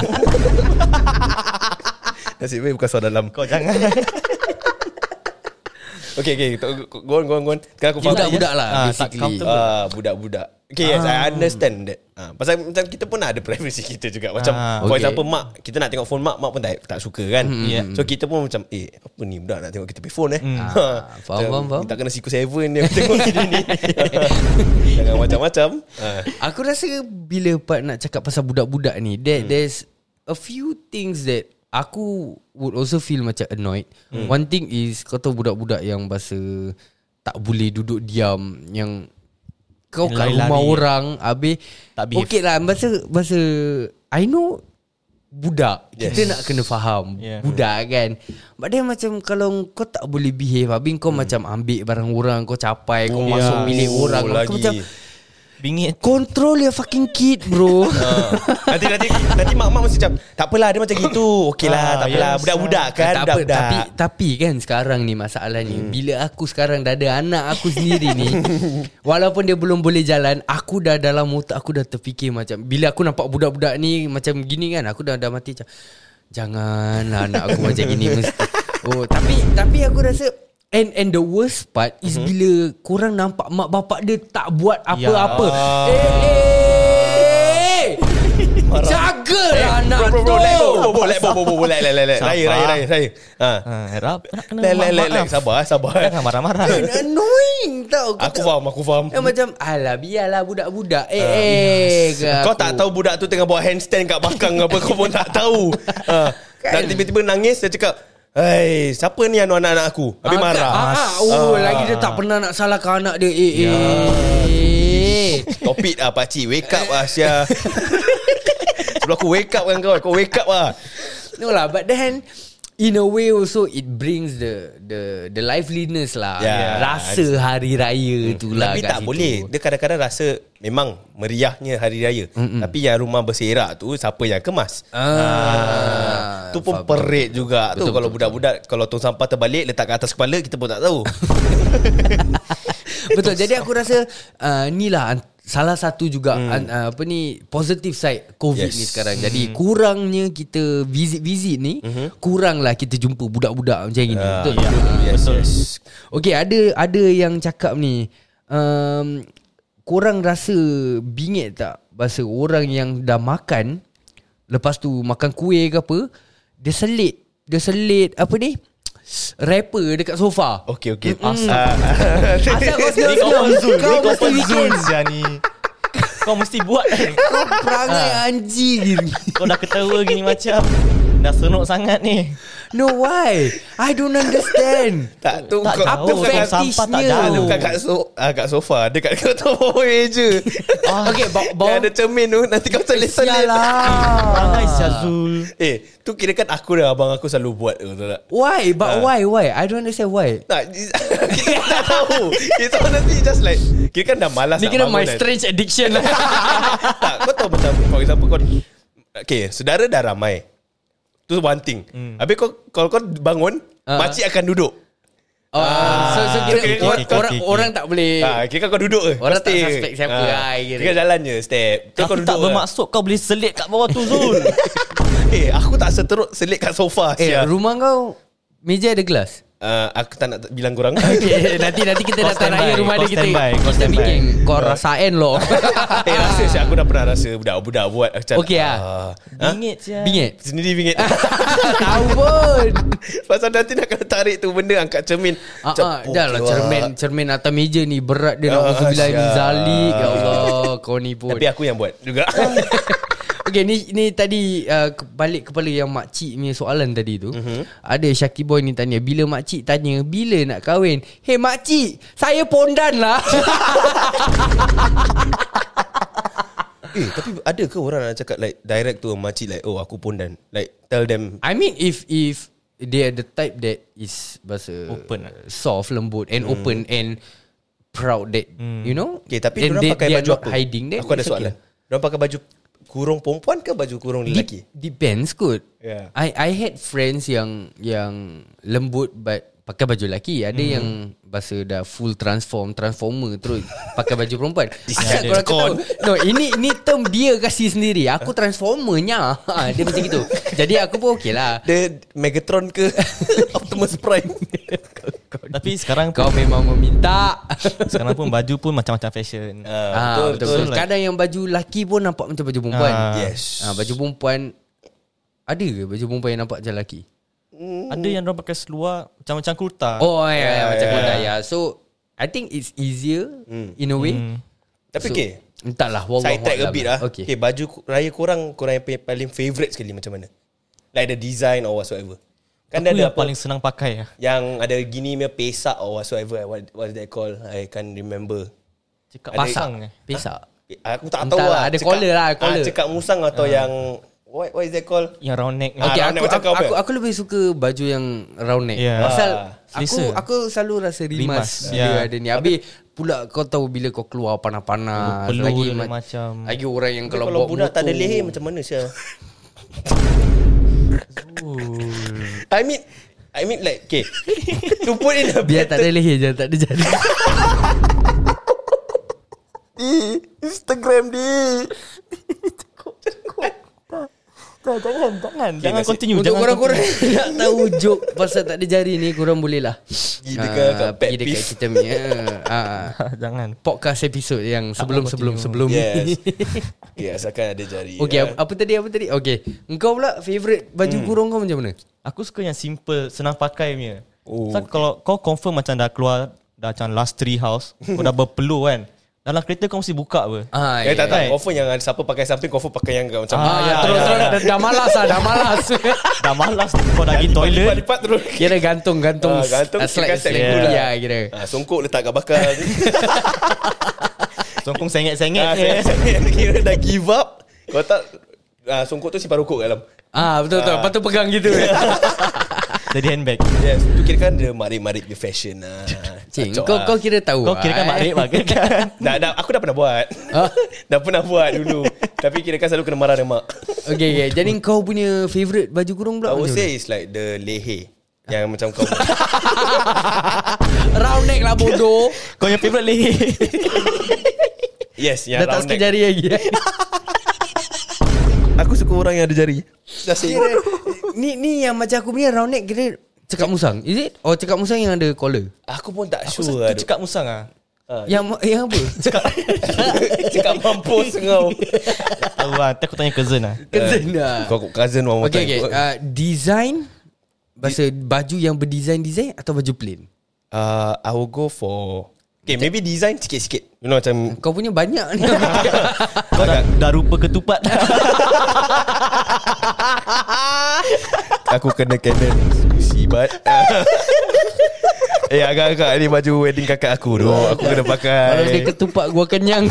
Speaker 2: Nasib baik bukan soal dalam.
Speaker 3: Kau jangan.
Speaker 2: Okay, okay. Go on, go on, go on. Sekarang aku faham.
Speaker 1: Budak-budak lah
Speaker 3: Ah, tak
Speaker 1: basically.
Speaker 3: comfortable.
Speaker 2: Ah, budak-budak. Okay, yes, I understand that. Ah, pasal macam kita pun ada privacy kita juga. Macam
Speaker 3: Ah,
Speaker 2: for
Speaker 1: okay.
Speaker 2: example mak, kita nak tengok phone mak, mak pun tak tak suka kan.
Speaker 3: Yeah.
Speaker 2: So kita pun macam eh apa ni budak nak tengok kita pay phone eh.
Speaker 1: Ah, faham,
Speaker 2: Macam,
Speaker 1: faham, faham.
Speaker 2: Tak kena Siku Seven dia tengok kita ni. Jangan macam-macam. Ah.
Speaker 1: Aku rasa bila part nak cakap pasal budak-budak ni, there, there's a few things that aku would also feel macam annoyed. Hmm. One thing is kau tahu budak-budak yang bahasa tak boleh duduk diam, yang kau kat
Speaker 3: Lari-lari.
Speaker 1: rumah orang habis
Speaker 3: Tak behave.
Speaker 1: okey lah bahasa bahasa I know budak
Speaker 2: Yes.
Speaker 1: kita nak kena faham
Speaker 3: Yeah.
Speaker 1: budak kan, but then macam kalau kau tak boleh behave habis kau macam ambil barang orang, kau capai, kau
Speaker 2: Oh,
Speaker 1: masuk bilik orang, kau
Speaker 2: lagi.
Speaker 1: macam
Speaker 3: Bingit.
Speaker 1: control your fucking kid bro.
Speaker 2: Nanti nanti nanti mak-mak mesti macam tak apalah dia macam gitu. Okeylah,
Speaker 3: Ah,
Speaker 2: tak apalah.
Speaker 3: yes.
Speaker 2: Budak-budak kan,
Speaker 1: tak apa,
Speaker 2: budak-budak.
Speaker 1: tapi tapi kan sekarang ni masalahnya hmm. bila aku sekarang dah ada anak aku sendiri ni, walaupun dia belum boleh jalan, aku dah dalam otak aku dah terfikir macam bila aku nampak budak-budak ni macam gini kan, aku dah dah mati macam janganlah anak aku macam gini mesti. Oh, tapi tapi aku rasa And and the worst part is mm-hmm. bila korang nampak mak bapak dia tak buat apa-apa.
Speaker 2: Ya.
Speaker 1: Eh, eh, jagalah anak
Speaker 2: Bro, bro, bro,
Speaker 1: tu.
Speaker 2: let, bro, bro, bro, let, bro, bro, bro, let, let, let, let. Raya, raya, raya, raya. Ha.
Speaker 3: Ha, harap nak kena
Speaker 2: Let, let, let, let.
Speaker 3: maaf.
Speaker 2: Sabar, sabar.
Speaker 3: Jangan marah-marah.
Speaker 1: And annoying tau. Kau
Speaker 2: Aku
Speaker 1: tak-
Speaker 2: faham, aku faham.
Speaker 1: Eh, macam alah biarlah budak-budak. Eh eh ke
Speaker 2: Kau
Speaker 1: aku.
Speaker 2: tak tahu budak tu tengah buat handstand kat belakang apa, kau pun tak tahu. Ha. Dan tiba-tiba nangis, dia cakap, "Hei, siapa ni anu anak-anak aku?" Habis
Speaker 1: Ah,
Speaker 2: marah.
Speaker 1: ah, ah, oh,
Speaker 2: Ah.
Speaker 1: lagi dia tak pernah nak salahkan anak dia. Eh
Speaker 2: Ya.
Speaker 1: eh.
Speaker 2: Stop it lah pakcik. Wake up lah Asia. Sebelum aku wake up kan kau. Kau wake up lah.
Speaker 1: No lah, but then in a way also it brings the the the liveliness lah.
Speaker 2: Yeah.
Speaker 1: Rasa hari raya tu lah.
Speaker 2: Tapi
Speaker 1: kat
Speaker 2: tak
Speaker 1: situ.
Speaker 2: boleh. Dia kadang-kadang rasa memang meriahnya hari raya. Mm-mm. Tapi yang rumah berserak tu siapa yang kemas?
Speaker 1: Ah,
Speaker 2: Tu pun
Speaker 1: faham.
Speaker 2: perit juga tu.
Speaker 1: Betul,
Speaker 2: Kalau
Speaker 1: betul,
Speaker 2: budak-budak kalau tong sampah terbalik letak kat atas kepala, kita pun tak tahu.
Speaker 1: Betul. Jadi aku rasa uh, ni lah an- salah satu juga
Speaker 2: Hmm.
Speaker 1: an, uh, apa ni positive side COVID
Speaker 2: Yes.
Speaker 1: ni sekarang. Jadi kurangnya kita visit-visit ni, kuranglah kita jumpa budak-budak macam gini.
Speaker 2: Ah,
Speaker 1: Betul.
Speaker 2: ya.
Speaker 1: Ah,
Speaker 2: Yes,
Speaker 1: betul.
Speaker 2: yes.
Speaker 1: Okey, ada ada yang cakap ni, um, korang rasa bingit tak bahasa orang yang dah makan, lepas tu makan kuih ke apa, dia selit, dia selit apa ni? Rapper dekat sofa.
Speaker 2: Okey, okey.
Speaker 1: Mm-mm.
Speaker 2: Ah,
Speaker 1: Asal kau
Speaker 3: Ni kau
Speaker 1: senang
Speaker 3: Zul.
Speaker 1: kau
Speaker 3: Ni kau
Speaker 1: mesti bikin.
Speaker 3: Zul Zia ni. Kau mesti buat kan.
Speaker 1: Kau perangai anjing.
Speaker 3: Kau dah ketawa gini macam dah senuk sangat ni.
Speaker 1: No, why? I don't understand.
Speaker 2: tak tu
Speaker 3: Tak
Speaker 2: kau
Speaker 3: tahu.
Speaker 2: tu bukan kat-
Speaker 3: Sampah tak
Speaker 1: fetishnya.
Speaker 2: tu
Speaker 3: jauh.
Speaker 2: bukan kat so, ah, kat sofa, dekat kau tu bawah meja.
Speaker 1: Okay, bawa,
Speaker 2: Yang
Speaker 1: bawa.
Speaker 2: ada cermin tu nanti kau selit-selit.
Speaker 3: Perangai Syazul.
Speaker 2: Eh, tu kira kan aku dah abang aku selalu buat tu, tahu tak?
Speaker 1: Why? But
Speaker 2: Ah.
Speaker 1: why? Why? I don't understand why.
Speaker 2: Tak, kita tak tahu. Kita nanti just like kira kan dah malas
Speaker 1: Ni
Speaker 2: nak
Speaker 1: kena
Speaker 2: bangun
Speaker 1: my
Speaker 2: kan.
Speaker 1: strange addiction lah.
Speaker 2: Tak, kau tahu macam for example kau okay, saudara dah ramai. Tu one thing. Hmm. Habis kau kalau kau bangun,
Speaker 1: Ah.
Speaker 2: makcik akan duduk.
Speaker 1: Oh, so, so kira
Speaker 2: Okay,
Speaker 1: or,
Speaker 2: okay,
Speaker 1: orang
Speaker 3: okay, okay.
Speaker 1: orang tak boleh.
Speaker 2: Ah, kira kau duduk je.
Speaker 1: Orang tak
Speaker 2: Stay.
Speaker 1: suspect siapa
Speaker 2: Ah,
Speaker 1: lah, kira.
Speaker 2: Kira jalan je step. Tu kau
Speaker 3: Tapi
Speaker 2: duduk
Speaker 3: tak
Speaker 2: je.
Speaker 3: bermaksud kau boleh selit kat bawah tu Zul.
Speaker 2: Eh, aku tak seteruk selit kat sofa.
Speaker 1: Eh,
Speaker 2: sia.
Speaker 1: rumah kau meja ada gelas?
Speaker 2: Uh, aku tak nak bilang korang.
Speaker 1: Okay, nanti nanti kita
Speaker 3: Kau
Speaker 1: datang
Speaker 3: standby,
Speaker 1: raya rumah
Speaker 3: kau
Speaker 1: dia kita
Speaker 3: standby, kau
Speaker 1: kita
Speaker 3: standby.
Speaker 1: bikin kau rasain loh.
Speaker 2: Eh, rasa sih aku dah pernah rasa budak-budak buat macam.
Speaker 1: Okey lah.
Speaker 2: ah,
Speaker 3: Bingit je.
Speaker 1: Bingit.
Speaker 2: Sendiri bingit.
Speaker 1: Tahu pun.
Speaker 2: Pasal nanti nak kena tarik tu benda angkat cermin.
Speaker 1: Ah,
Speaker 2: Macam,
Speaker 1: ah, dah lah cermin cermin atas meja ni berat dia nak
Speaker 2: Ah,
Speaker 1: uzubillah min
Speaker 2: siap.
Speaker 1: zalik. Ya Allah, kau ni pun.
Speaker 2: Tapi aku yang buat juga.
Speaker 1: Okay, ni ni tadi uh, balik kepada yang makcik punya soalan tadi tu. Uh-huh. Ada Syaki Boy ni tanya, bila makcik tanya bila nak kahwin, hey makcik, saya pondan lah.
Speaker 2: Eh, tapi ada ke orang nak cakap like direct to makcik like, oh aku pondan, like tell them.
Speaker 1: I mean if if they are the type that is bahasa
Speaker 3: open,
Speaker 1: uh, soft, lembut and mm. open and proud that mm. you know.
Speaker 2: Okay, tapi diorang pakai baju apa?
Speaker 1: Hiding that.
Speaker 2: Aku ada soalan. Okay. Diorang pakai baju kurung perempuan ke baju kurung lelaki?
Speaker 1: Dep- depends kot.
Speaker 2: Yeah.
Speaker 1: I I had friends yang yang lembut but pakai baju lelaki. Ada mm. yang bahasa dah full transform, transformer terus pakai baju perempuan. Asal korang tahu. No, ini ini term dia kasih sendiri. Aku transformernya. Ha, dia macam gitu. Jadi aku pun okey lah.
Speaker 2: Dia Megatron ke Optimus Prime.
Speaker 3: Tapi sekarang
Speaker 1: kau memang meminta.
Speaker 3: Sekarang pun baju pun macam-macam fashion.
Speaker 2: Ah,
Speaker 1: Ah,
Speaker 2: betul,
Speaker 1: betul,
Speaker 2: betul.
Speaker 1: betul. Kadang yang baju lelaki pun nampak macam baju perempuan.
Speaker 3: Ah.
Speaker 2: Yes.
Speaker 1: Ah, baju perempuan ada ke baju perempuan yang nampak macam lelaki?
Speaker 3: Ada yang orang pakai seluar macam-macam kurta.
Speaker 1: Oh ya, ya, macam
Speaker 2: ya,
Speaker 1: kurta
Speaker 2: ya.
Speaker 1: ya. So I think it's easier
Speaker 2: Hmm.
Speaker 1: in a way.
Speaker 3: Hmm.
Speaker 2: Tapi
Speaker 1: So,
Speaker 2: okay,
Speaker 1: entahlah, wallahu
Speaker 2: side tag a
Speaker 1: a'lam.
Speaker 2: bit lah.
Speaker 1: Okay.
Speaker 2: Okay, baju raya korang, korang yang paling favourite sekali macam mana? Like the design or whatsoever. Kan
Speaker 3: Aku
Speaker 2: ada
Speaker 3: yang
Speaker 2: apa
Speaker 3: paling senang pakai lah.
Speaker 2: yang ada gini punya pesak or whatsoever. What what is that called? I can't remember.
Speaker 3: Cakap
Speaker 2: Ada-
Speaker 3: pasang eh.
Speaker 1: Pesak.
Speaker 2: Eh, Aku tak
Speaker 1: Entah
Speaker 2: tahu
Speaker 1: lah,
Speaker 2: lah.
Speaker 1: ada collar lah, collar.
Speaker 2: Ah, cekak musang atau yang what what is that called?
Speaker 3: Yang round neck.
Speaker 2: Ah,
Speaker 1: Okay,
Speaker 2: round
Speaker 1: aku,
Speaker 2: neck macam
Speaker 1: aku,
Speaker 2: kau
Speaker 1: aku,
Speaker 2: punya.
Speaker 1: aku lebih suka baju yang round neck.
Speaker 3: Yeah.
Speaker 1: Pasal
Speaker 2: Ah,
Speaker 1: aku
Speaker 3: selesa.
Speaker 1: aku selalu rasa rimas,
Speaker 3: Rimas,
Speaker 1: dia
Speaker 3: yeah.
Speaker 1: ada ni. Habis pula kau tahu bila kau keluar panas-panas
Speaker 3: Peluh
Speaker 1: lagi
Speaker 3: dia
Speaker 1: ma-
Speaker 3: macam.
Speaker 1: lagi orang yang
Speaker 2: Kalau,
Speaker 1: kalau,
Speaker 2: kalau
Speaker 1: bawa
Speaker 2: budak
Speaker 1: motor,
Speaker 2: tak ada leher macam mana Syah? I mean I mean like okay. To put in a
Speaker 1: biar tak ada leher je, tak ada jari.
Speaker 2: di Instagram di.
Speaker 3: Tak, jangan, jangan.
Speaker 2: Okay,
Speaker 3: jangan
Speaker 2: nasib-
Speaker 3: continue.
Speaker 1: Untuk
Speaker 3: jangan
Speaker 1: korang-korang
Speaker 3: continue.
Speaker 1: nak tahu joke pasal tak ada jari ni, korang boleh lah
Speaker 2: Pergi dekat- kat pet
Speaker 1: pergi dekat
Speaker 2: peeve.
Speaker 1: kita punya ah,
Speaker 3: Jangan.
Speaker 1: podcast episod yang sebelum-sebelum sebelum
Speaker 2: Yes.
Speaker 1: ni.
Speaker 2: Okay, asalkan ada jari.
Speaker 1: Okay,
Speaker 2: ya.
Speaker 1: apa, apa tadi apa tadi? Okay, engkau pula favourite baju
Speaker 2: Hmm.
Speaker 1: kurung kau macam mana?
Speaker 3: Aku suka yang simple, senang pakai punya.
Speaker 2: Oh,
Speaker 3: So kalau kau confirm macam dah keluar, dah macam last tree house, kau dah berpeluh kan. Dalam kereta kau mesti buka apa.
Speaker 1: Ah,
Speaker 2: Eh tak tak,
Speaker 3: Right.
Speaker 2: confirm yang ada siapa pakai samping, confirm pakai yang macam
Speaker 1: Ah,
Speaker 3: ya,
Speaker 1: terus
Speaker 3: ya,
Speaker 1: terus
Speaker 3: ya.
Speaker 1: dah, dah malas lah, dah malas.
Speaker 3: Dah malas kau dah pergi toilet.
Speaker 2: lipat terus.
Speaker 1: Kira gantung-gantung
Speaker 2: Ah, gantung,
Speaker 1: ah, slide
Speaker 2: sikat
Speaker 1: slide
Speaker 3: step
Speaker 1: kuliah
Speaker 3: gula.
Speaker 1: kira.
Speaker 2: Ah, songkok letak kat bakal.
Speaker 3: Songkong sengit-sengit.
Speaker 2: ah,
Speaker 3: je.
Speaker 2: saya, saya kira dah give up. Kau tak ah, songkok tu simpan rokok kat dalam.
Speaker 1: Ah, betul betul.
Speaker 2: Ah.
Speaker 1: Lepas tu pegang gitu.
Speaker 3: Jadi handbag.
Speaker 2: Yes, tu kira kan dia marik-marik dia fashion lah.
Speaker 1: Cing,
Speaker 2: Cocok
Speaker 1: kau
Speaker 2: lah.
Speaker 1: kau kira tahu.
Speaker 3: Kau kira kan
Speaker 1: ah,
Speaker 3: makrib lah kan?
Speaker 2: Dah, dah, aku dah pernah buat.
Speaker 1: Ah.
Speaker 2: Dah pernah buat dulu. Tapi kira kan selalu kena marah dengan mak.
Speaker 1: Okay, okay. Jadi kau punya favourite baju kurung pula
Speaker 2: I would
Speaker 1: macam
Speaker 2: say it's like the leher. Yang macam kau
Speaker 1: mana? Round neck lah bodoh.
Speaker 3: Kau yang favourite leher.
Speaker 2: Yes, yang
Speaker 1: Dah tak
Speaker 2: round
Speaker 1: sikit
Speaker 2: neck.
Speaker 1: jari lagi.
Speaker 2: Aku suka orang yang ada jari. Dah
Speaker 1: Kira, ni ni yang macam aku punya round neck kira cekak musang. Is it? Oh, cekak musang yang ada collar.
Speaker 2: Aku pun tak
Speaker 3: Aku
Speaker 2: sure
Speaker 3: satu
Speaker 2: lah.
Speaker 3: cakap musang ah.
Speaker 1: Yang yang apa?
Speaker 2: Cakap mampus kau.
Speaker 3: Tahu lah, nanti aku tanya cousin lah.
Speaker 1: Cousin dah.
Speaker 2: Kau cousin one more
Speaker 1: Okay,
Speaker 2: time.
Speaker 1: okay. Uh, design bahasa baju yang berdesign-design atau baju plain?
Speaker 2: Uh, I will go for okay, maybe design sikit-sikit. You know macam
Speaker 1: Kau punya banyak ni.
Speaker 3: Kau dah, dah rupa ketupat.
Speaker 2: aku kena Canon musibat. Eh agak-agak ni baju wedding kakak aku tu. Aku kena
Speaker 1: Kalau dia
Speaker 2: pakai.
Speaker 1: ketupat gua kenyang.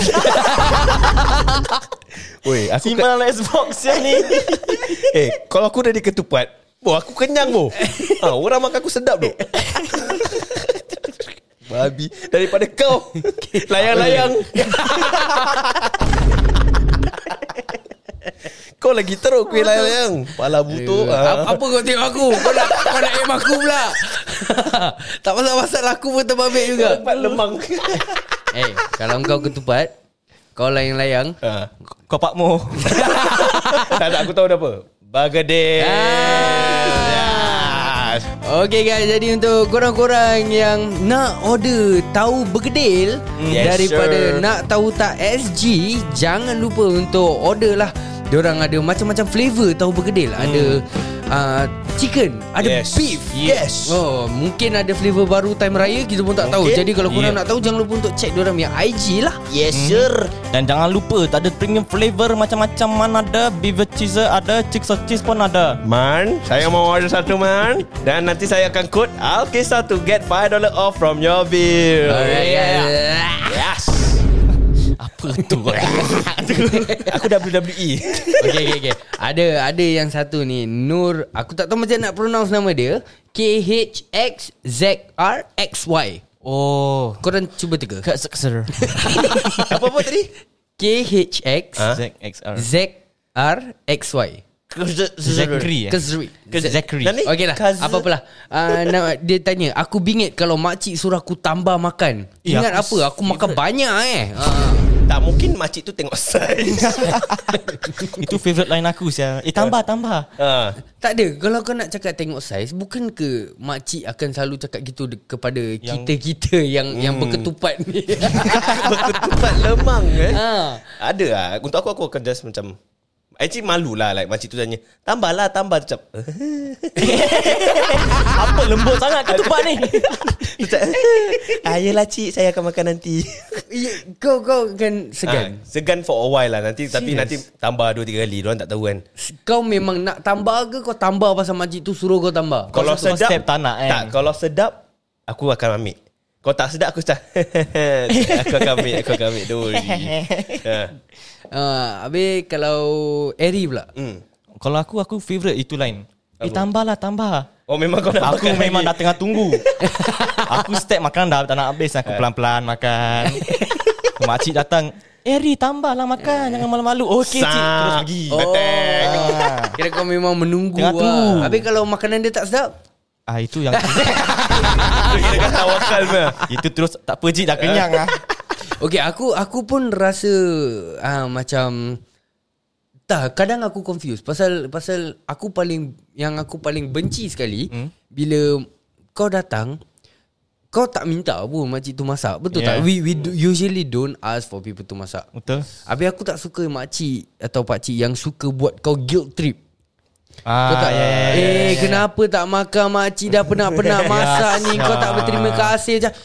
Speaker 2: Woi, aku ke,
Speaker 3: Simpan dalam Xbox yang ni.
Speaker 2: eh kalau aku dah diketupat, boh aku kenyang boh. Ha, orang makan aku sedap doh. Babi daripada kau layang-layang. Kau lagi teruk kuih layang-layang. Pala butuh.
Speaker 1: Apa, apa kau tengok aku? Kau nak kau nak aim aku pula. Tak pasal-pasal aku pun terbabit juga.
Speaker 2: Tempat lemang.
Speaker 1: Eh, kalau kau ketupat, kau layang-layang.
Speaker 2: Ha.
Speaker 3: Kau Pak Mo.
Speaker 2: Tak tak aku tahu dah apa. Bagade.
Speaker 1: Ah. Okay guys, jadi untuk korang-korang yang nak order tahu bergedil
Speaker 2: Yes,
Speaker 1: daripada
Speaker 2: sir.
Speaker 1: nak tahu tak S G, jangan lupa untuk order lah. Diorang ada macam-macam flavor tahu bergedil. Hmm. Ada uh, chicken, ada
Speaker 2: Yes.
Speaker 1: beef.
Speaker 2: Yes.
Speaker 1: Oh, mungkin ada flavor baru time raya, kita pun tak tahu.
Speaker 2: Mungkin.
Speaker 1: Jadi kalau korang
Speaker 3: Yeah.
Speaker 1: nak tahu, jangan lupa untuk check diorang punya I G lah.
Speaker 2: Yes sir.
Speaker 3: Dan jangan lupa tak ada premium flavor macam-macam man ada, beef cheese ada, chick sauce cheese pun ada.
Speaker 2: Man, saya mau order satu man. Dan nanti saya akan kod Alkisah to get five dollars off from your bill.
Speaker 1: Alright, yeah.
Speaker 2: Yes.
Speaker 3: Apa tu?
Speaker 2: Aku W W E.
Speaker 1: Okay, okay, okay. Ada ada yang satu ni, Nur. Aku tak tahu macam nak pronounce nama dia. K H X Z R X Y.
Speaker 3: Oh,
Speaker 1: Korang cuba teka.
Speaker 3: kat sekser.
Speaker 2: Apa-apa tadi?
Speaker 1: K H X
Speaker 2: Ha?
Speaker 3: Z X R.
Speaker 1: Z R X Y.
Speaker 3: Zachary. eh?
Speaker 1: Kezri.
Speaker 3: Zachary.
Speaker 2: Dan ni
Speaker 1: Okey lah,
Speaker 2: Kaz-
Speaker 1: apa-apalah. Uh, nama, dia tanya, aku bingit kalau makcik suruh aku tambah makan.
Speaker 3: Eh,
Speaker 1: Ingat
Speaker 3: aku
Speaker 1: apa? Aku makan banyak eh. Uh.
Speaker 2: Tak mungkin makcik tu tengok saiz.
Speaker 3: Itu favourite line aku sia. Eh tambah tambah.
Speaker 2: ha.
Speaker 1: Tak ada. Kalau kau nak cakap tengok saiz, bukan ke makcik akan selalu cakap gitu de- kepada kita-kita yang yang berketupat ni?
Speaker 2: Berketupat lemang eh.
Speaker 1: ha.
Speaker 2: Ada lah. Untuk aku, aku akan just macam actually malu lah. Like makcik tu tanya, tambahlah, tambah. Macam
Speaker 3: Apa lembut sangat ketupat ni?
Speaker 2: Macam, ah, yelah cik, saya akan makan nanti.
Speaker 1: Ya, kau kau kan segan.
Speaker 2: ha, Segan for a while lah. Nanti Tapi
Speaker 1: Serious?
Speaker 2: nanti tambah dua tiga kali. Diorang tak tahu kan.
Speaker 1: Kau memang nak tambah ke kau tambah pasal makcik tu suruh kau tambah?
Speaker 2: Kalau
Speaker 3: satu
Speaker 2: sedap
Speaker 3: step tak nak, kan?
Speaker 2: Tak, kalau sedap aku akan ambil. Kalau tak sedap aku cakap aku akan ambil, aku akan ambil. Don't worry. ha.
Speaker 1: Uh, habis kalau Eri pula.
Speaker 2: hmm.
Speaker 3: Kalau aku aku favourite itu line. Eh
Speaker 2: Apa?
Speaker 3: tambahlah tambah.
Speaker 2: Oh memang kau nak
Speaker 3: Aku
Speaker 2: makan
Speaker 3: memang
Speaker 2: lagi.
Speaker 3: dah tengah tunggu. Aku step makan dah tak nak habis. Aku pelan-pelan makan. Makcik datang, Eri tambahlah makan, jangan malu-malu. Okey cik,
Speaker 2: Sah.
Speaker 3: terus pergi.
Speaker 1: Oh.
Speaker 2: Attack.
Speaker 3: Ah.
Speaker 1: Kira kau memang menunggu
Speaker 3: Tengah tunggu.
Speaker 1: lah. Habis kalau makanan dia tak sedap?
Speaker 3: Ah itu yang
Speaker 2: Itu kira kan tawakal punya.
Speaker 3: itu terus tak apa cik dah kenyang ah.
Speaker 1: Okay, aku aku pun rasa uh, macam tak, kadang aku confused pasal pasal aku paling yang aku paling benci sekali hmm? bila kau datang kau tak minta pun makcik tu masak. Betul
Speaker 3: Yeah.
Speaker 1: tak? We we do, usually don't ask for people to masak.
Speaker 3: Betul.
Speaker 1: Habis aku tak suka makcik atau pakcik yang suka buat kau guilt trip.
Speaker 3: Ah,
Speaker 1: Kau tak,
Speaker 3: ya, ya, ya,
Speaker 1: eh
Speaker 3: ya, ya.
Speaker 1: kenapa tak makan makcik dah penat-penat masak ni. Kau tak berterima kasih macam,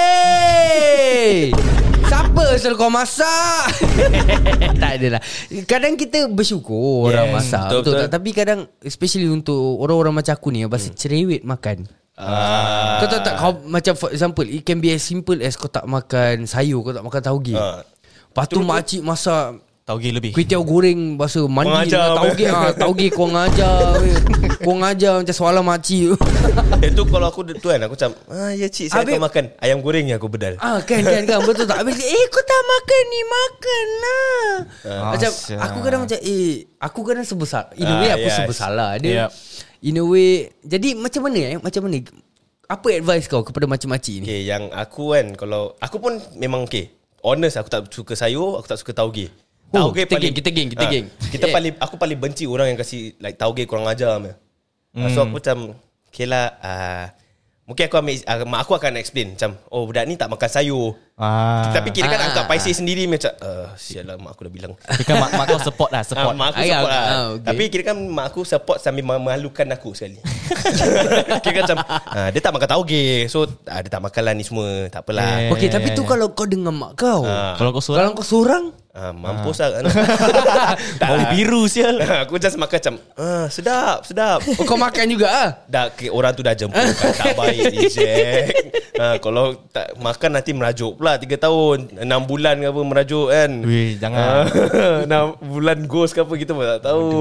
Speaker 1: eh siapa suruh kau masak? Tak adalah. Kadang kita bersyukur orang
Speaker 2: Yes,
Speaker 1: masak,
Speaker 2: betul,
Speaker 1: betul,
Speaker 2: betul.
Speaker 1: tak? Tapi kadang especially untuk orang-orang macam aku ni yang pasal cerewet makan.
Speaker 2: Ah.
Speaker 1: Kau tahu tak, kau macam for example, it can be as simple as kau tak makan sayur, kau tak makan tauge.
Speaker 2: Ah.
Speaker 1: Lepas tu makcik masak
Speaker 3: Tauge lebih.
Speaker 1: kuih tiaw goreng bahasa mandi
Speaker 2: Mengajar.
Speaker 1: dengan tauge. Ah, tauge kau ngajar. weh. Kau ngajar macam soalan makcik.
Speaker 2: Itu kalau aku tu kan, aku macam, ah ya cik, saya
Speaker 1: Habis-
Speaker 2: akan makan ayam goreng yang aku bedal.
Speaker 1: Ah kan kan kan betul tak. Habis eh kau tak makan ni, makan lah. Macam
Speaker 3: Asyik.
Speaker 1: aku kadang macam eh aku kadang sebesar. In a
Speaker 2: Ah,
Speaker 1: way aku
Speaker 2: yes.
Speaker 1: sebesarlah dia.
Speaker 3: Yep.
Speaker 1: In a way, jadi macam mana eh? Macam mana? Apa advice kau kepada macam-macam ni?
Speaker 2: Okay, yang aku kan, kalau aku pun memang okay, honest, aku tak suka sayur, aku tak suka tauge.
Speaker 1: Oh,
Speaker 2: Tauge
Speaker 1: kita geng, kita geng, kita
Speaker 2: Ah,
Speaker 1: geng.
Speaker 2: Kita
Speaker 1: Eh.
Speaker 2: paling aku paling benci orang yang kasih like tauge kurang ajar punya. Hmm. So aku macam okay lah, uh, mungkin aku ambil uh, mak aku akan explain macam, oh budak ni tak makan sayur.
Speaker 3: Ah.
Speaker 2: Tapi kira kan
Speaker 1: Ah.
Speaker 2: angkat paisi sendiri macam, uh, sialah mak aku dah bilang.
Speaker 3: Tapi kan mak, mak kau support lah,
Speaker 2: Ah,
Speaker 3: support.
Speaker 2: mak aku
Speaker 1: Ah,
Speaker 2: support
Speaker 1: ya,
Speaker 2: lah.
Speaker 1: ah, okay.
Speaker 2: Tapi kira kan mak aku support sambil memalukan aku sekali. Kira kan macam ah, dia tak makan tauge, so ah, dia tak makan lah ni semua. Tak apalah.
Speaker 3: Eh.
Speaker 1: Okey, tapi tu kalau kau dengan mak kau.
Speaker 2: Ah.
Speaker 3: Kalau kau
Speaker 1: Kalau
Speaker 3: seorang
Speaker 1: kau seorang,
Speaker 2: Ah, mampus lah kan. Tak
Speaker 3: bau
Speaker 2: lah.
Speaker 3: biru sial.
Speaker 2: Aku just makan macam ah, sedap, sedap.
Speaker 1: oh, kau makan juga ah.
Speaker 2: Dah ke, orang tu dah jemput kan, tak baik reject. Ha, kalau tak makan nanti merajuk pula tiga tahun, enam bulan ke apa merajuk kan.
Speaker 3: Weh, jangan.
Speaker 2: Ah, enam bulan ghost ke apa kita pun tak tahu.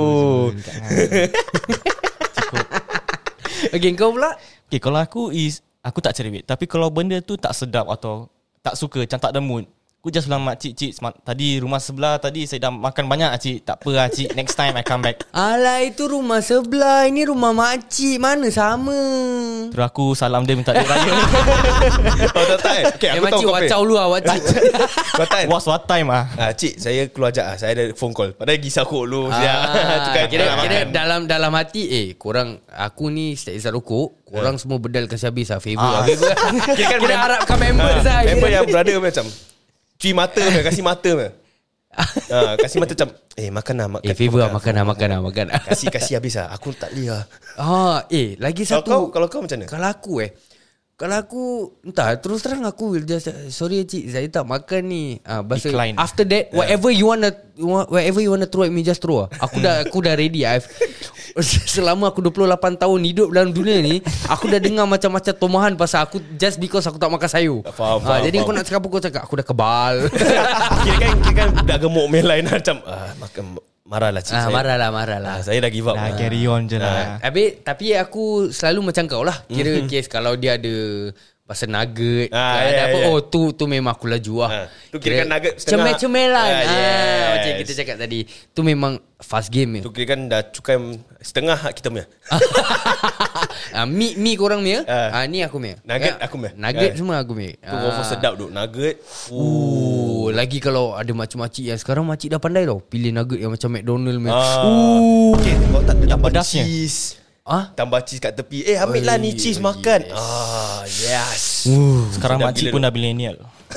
Speaker 1: Okey, kau pula?
Speaker 3: Okay, kalau aku is aku tak cerewet. Tapi kalau benda tu tak sedap atau tak suka, macam tak ada mood, aku just bilang makcik, cik, semat, tadi rumah sebelah tadi saya dah makan banyak cik. Tak apa lah cik, next time I come back.
Speaker 1: Alah, itu rumah sebelah, ini rumah makcik, mana sama.
Speaker 3: Terus aku salam dia minta duit raya.
Speaker 2: Oh tak tak. Okay,
Speaker 1: Eh
Speaker 2: aku tahu
Speaker 1: makcik
Speaker 2: kau
Speaker 1: wacau lu ah, makcik.
Speaker 2: Kau tahu.
Speaker 3: Was what time ah?
Speaker 2: Ah, cik, saya keluar jap ah. Saya ada phone call. Padahal gisah kok lu.
Speaker 1: Ah,
Speaker 2: Tukar
Speaker 1: kira,
Speaker 2: nak
Speaker 1: kira
Speaker 2: makan.
Speaker 1: dalam dalam hati, eh korang, aku ni setiap isap rokok, korang semua bedal kasi habis lah, favor
Speaker 3: Ah.
Speaker 1: lah. Favor.
Speaker 2: Kira kan
Speaker 1: Kira
Speaker 2: mem-
Speaker 1: harapkan member
Speaker 2: Ah,
Speaker 1: saya.
Speaker 2: Member yang brother macam cuci mata punya, kasih mata punya. ha, kasih mata macam eh makan lah makan.
Speaker 1: Eh favor lah makan lah makan lah makan lah.
Speaker 2: Kasih kasih habis lah. Aku tak boleh lah.
Speaker 1: Ah, eh lagi
Speaker 2: Kalau
Speaker 1: satu.
Speaker 2: kau kalau kau macam mana?
Speaker 1: Kalau aku eh Kalau aku entah, terus terang aku will just sorry cik, saya tak makan ni. Ah, bahasa
Speaker 3: Decline.
Speaker 1: after that whatever you wanna whatever you wanna throw at me, just throw. Aku dah aku dah ready. I've selama aku dua puluh lapan tahun hidup dalam dunia ni, aku dah dengar macam-macam tomahan pasal aku just because aku tak makan sayur.
Speaker 2: Faham,
Speaker 1: Ah,
Speaker 2: faham,
Speaker 1: jadi
Speaker 2: faham.
Speaker 1: kau nak cakap apa kau cakap, aku dah kebal.
Speaker 2: Kira kan kira kan dah gemuk main lain macam ah, makan marah lah cik
Speaker 1: Ah,
Speaker 2: saya.
Speaker 1: marah lah, marah lah.
Speaker 2: Ah, saya dah give up.
Speaker 3: Dah
Speaker 2: lah.
Speaker 3: carry on je lah.
Speaker 1: Tapi tapi aku selalu macam kau lah. Kira kes kalau dia ada pasal nugget,
Speaker 2: Ah,
Speaker 1: ada
Speaker 2: ya,
Speaker 1: apa,
Speaker 2: ya.
Speaker 1: oh tu tu memang aku laju lah.
Speaker 2: Ah, tu kira kan nugget setengah.
Speaker 1: Cemel-cemelan.
Speaker 2: Ah,
Speaker 1: Ah,
Speaker 2: yes.
Speaker 1: macam kita cakap tadi. Tu memang fast game
Speaker 2: Tu
Speaker 1: ya.
Speaker 2: kira kan dah cukai setengah hak kita punya.
Speaker 1: Ah, mi mi korang punya.
Speaker 2: Ah.
Speaker 1: Ah, ni aku punya.
Speaker 2: Nugget
Speaker 1: Ah,
Speaker 2: aku punya.
Speaker 1: Nugget
Speaker 2: Ah.
Speaker 1: semua aku punya.
Speaker 2: Tu confirm sedap duk nugget.
Speaker 1: Uh, lagi kalau ada makcik-makcik yang sekarang makcik dah pandai tau pilih nugget yang macam McDonald punya.
Speaker 2: Ah.
Speaker 1: Uh.
Speaker 2: Okay, kau tak
Speaker 3: Yang
Speaker 2: tambah
Speaker 3: pedasnya.
Speaker 2: cheese.
Speaker 1: Ah,
Speaker 2: Tambah cheese kat tepi. Eh ambil lah ni
Speaker 1: Oi,
Speaker 2: cheese
Speaker 1: oi,
Speaker 2: makan.
Speaker 1: yes.
Speaker 2: Ah, yes.
Speaker 3: Sekarang
Speaker 2: Sedap
Speaker 3: makcik
Speaker 2: gila
Speaker 3: pun
Speaker 2: tu.
Speaker 3: dah millennial.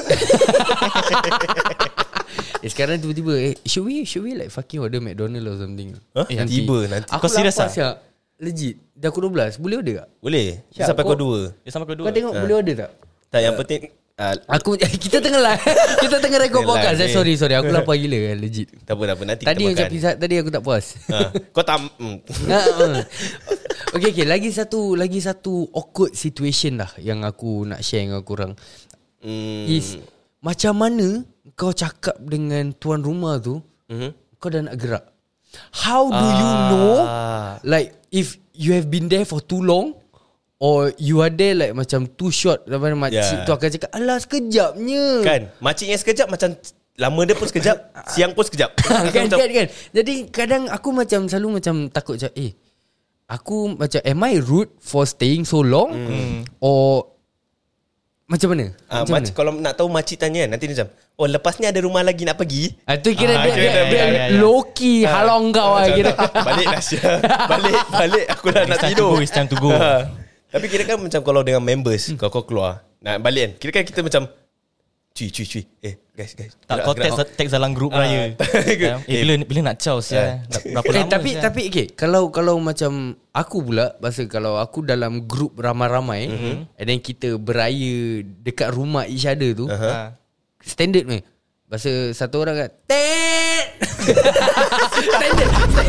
Speaker 1: eh sekarang tiba-tiba eh should we should we like fucking order McDonald or something?
Speaker 2: Huh?
Speaker 3: Eh,
Speaker 2: Nanti. Tiba nanti.
Speaker 1: Aku
Speaker 3: Kau serius
Speaker 1: lapar
Speaker 3: ah?
Speaker 1: siap. Legit. Dah pukul dua belas. Boleh order tak?
Speaker 2: Boleh.
Speaker 1: Syak,
Speaker 2: Sampai
Speaker 1: kau-
Speaker 2: kau dua.
Speaker 3: Dia sama kedua.
Speaker 1: Kau tengok boleh order tak?
Speaker 2: Tak yang penting ah,
Speaker 1: Aku kita tengah lah. Kita tengah rekod
Speaker 2: Tengah
Speaker 1: podcast.
Speaker 2: live
Speaker 1: Eh,
Speaker 2: ni.
Speaker 1: sorry sorry aku lapar gila kan legit.
Speaker 2: tak apa tak apa nanti
Speaker 1: Tadi
Speaker 2: kita
Speaker 1: macam
Speaker 2: makan.
Speaker 1: pizza tadi aku tak puas.
Speaker 2: Ha, kau tak mm.
Speaker 1: Ha, ha. Okay okay lagi satu lagi satu awkward situation lah yang aku nak share dengan korang.
Speaker 2: Mm.
Speaker 1: Is macam mana kau cakap dengan tuan rumah tu,
Speaker 2: Mhm.
Speaker 1: kau dah nak gerak. How do you know
Speaker 2: Ah.
Speaker 1: like if you have been there for too long or you are there like macam too short, sampai makcik
Speaker 2: Yeah.
Speaker 1: tu akan cakap alah sekejapnya.
Speaker 2: Kan makciknya sekejap macam lama dia pun sekejap, siang pun sekejap.
Speaker 1: kan,
Speaker 2: Macam-
Speaker 1: kan kan. Jadi kadang aku macam selalu macam takut macam eh aku macam am I rude for staying so long mm. or macam mana?
Speaker 2: Ah,
Speaker 1: Macam
Speaker 2: mac- kalau nak tahu makcik tanya nanti dia macam oh lepas ni ada rumah lagi nak pergi.
Speaker 1: Ah, tu kira
Speaker 3: Ah,
Speaker 1: dia,
Speaker 3: kira
Speaker 1: dia,
Speaker 3: dia-
Speaker 1: dia,
Speaker 3: ya, ya, ya.
Speaker 1: low key halang kau lah
Speaker 2: Macam
Speaker 1: kira.
Speaker 2: balik lah Syah. Balik Balik aku dah nak
Speaker 3: It's time to
Speaker 2: tidur.
Speaker 3: go, it's time to go.
Speaker 2: Ha. Tapi kira kan macam kalau dengan members Kau kau keluar nak balik kan, kira kan kita macam cuy cuy cuy eh guys guys
Speaker 3: Tak
Speaker 2: gerak,
Speaker 3: kau
Speaker 2: gerak.
Speaker 3: text, text dalam grup
Speaker 2: Ah,
Speaker 3: raya.
Speaker 2: tak-
Speaker 3: Eh, bila bila nak caw sia. Dah Berapa
Speaker 1: Eh,
Speaker 3: lama
Speaker 1: tapi
Speaker 3: sia?
Speaker 1: tapi okay, kalau kalau macam aku pula pasal kalau aku dalam grup ramai-ramai mm-hmm. and then kita beraya dekat rumah each other tu
Speaker 2: Uh-huh.
Speaker 3: Ha.
Speaker 1: standard ni. Bahasa satu orang kan tet. Standard.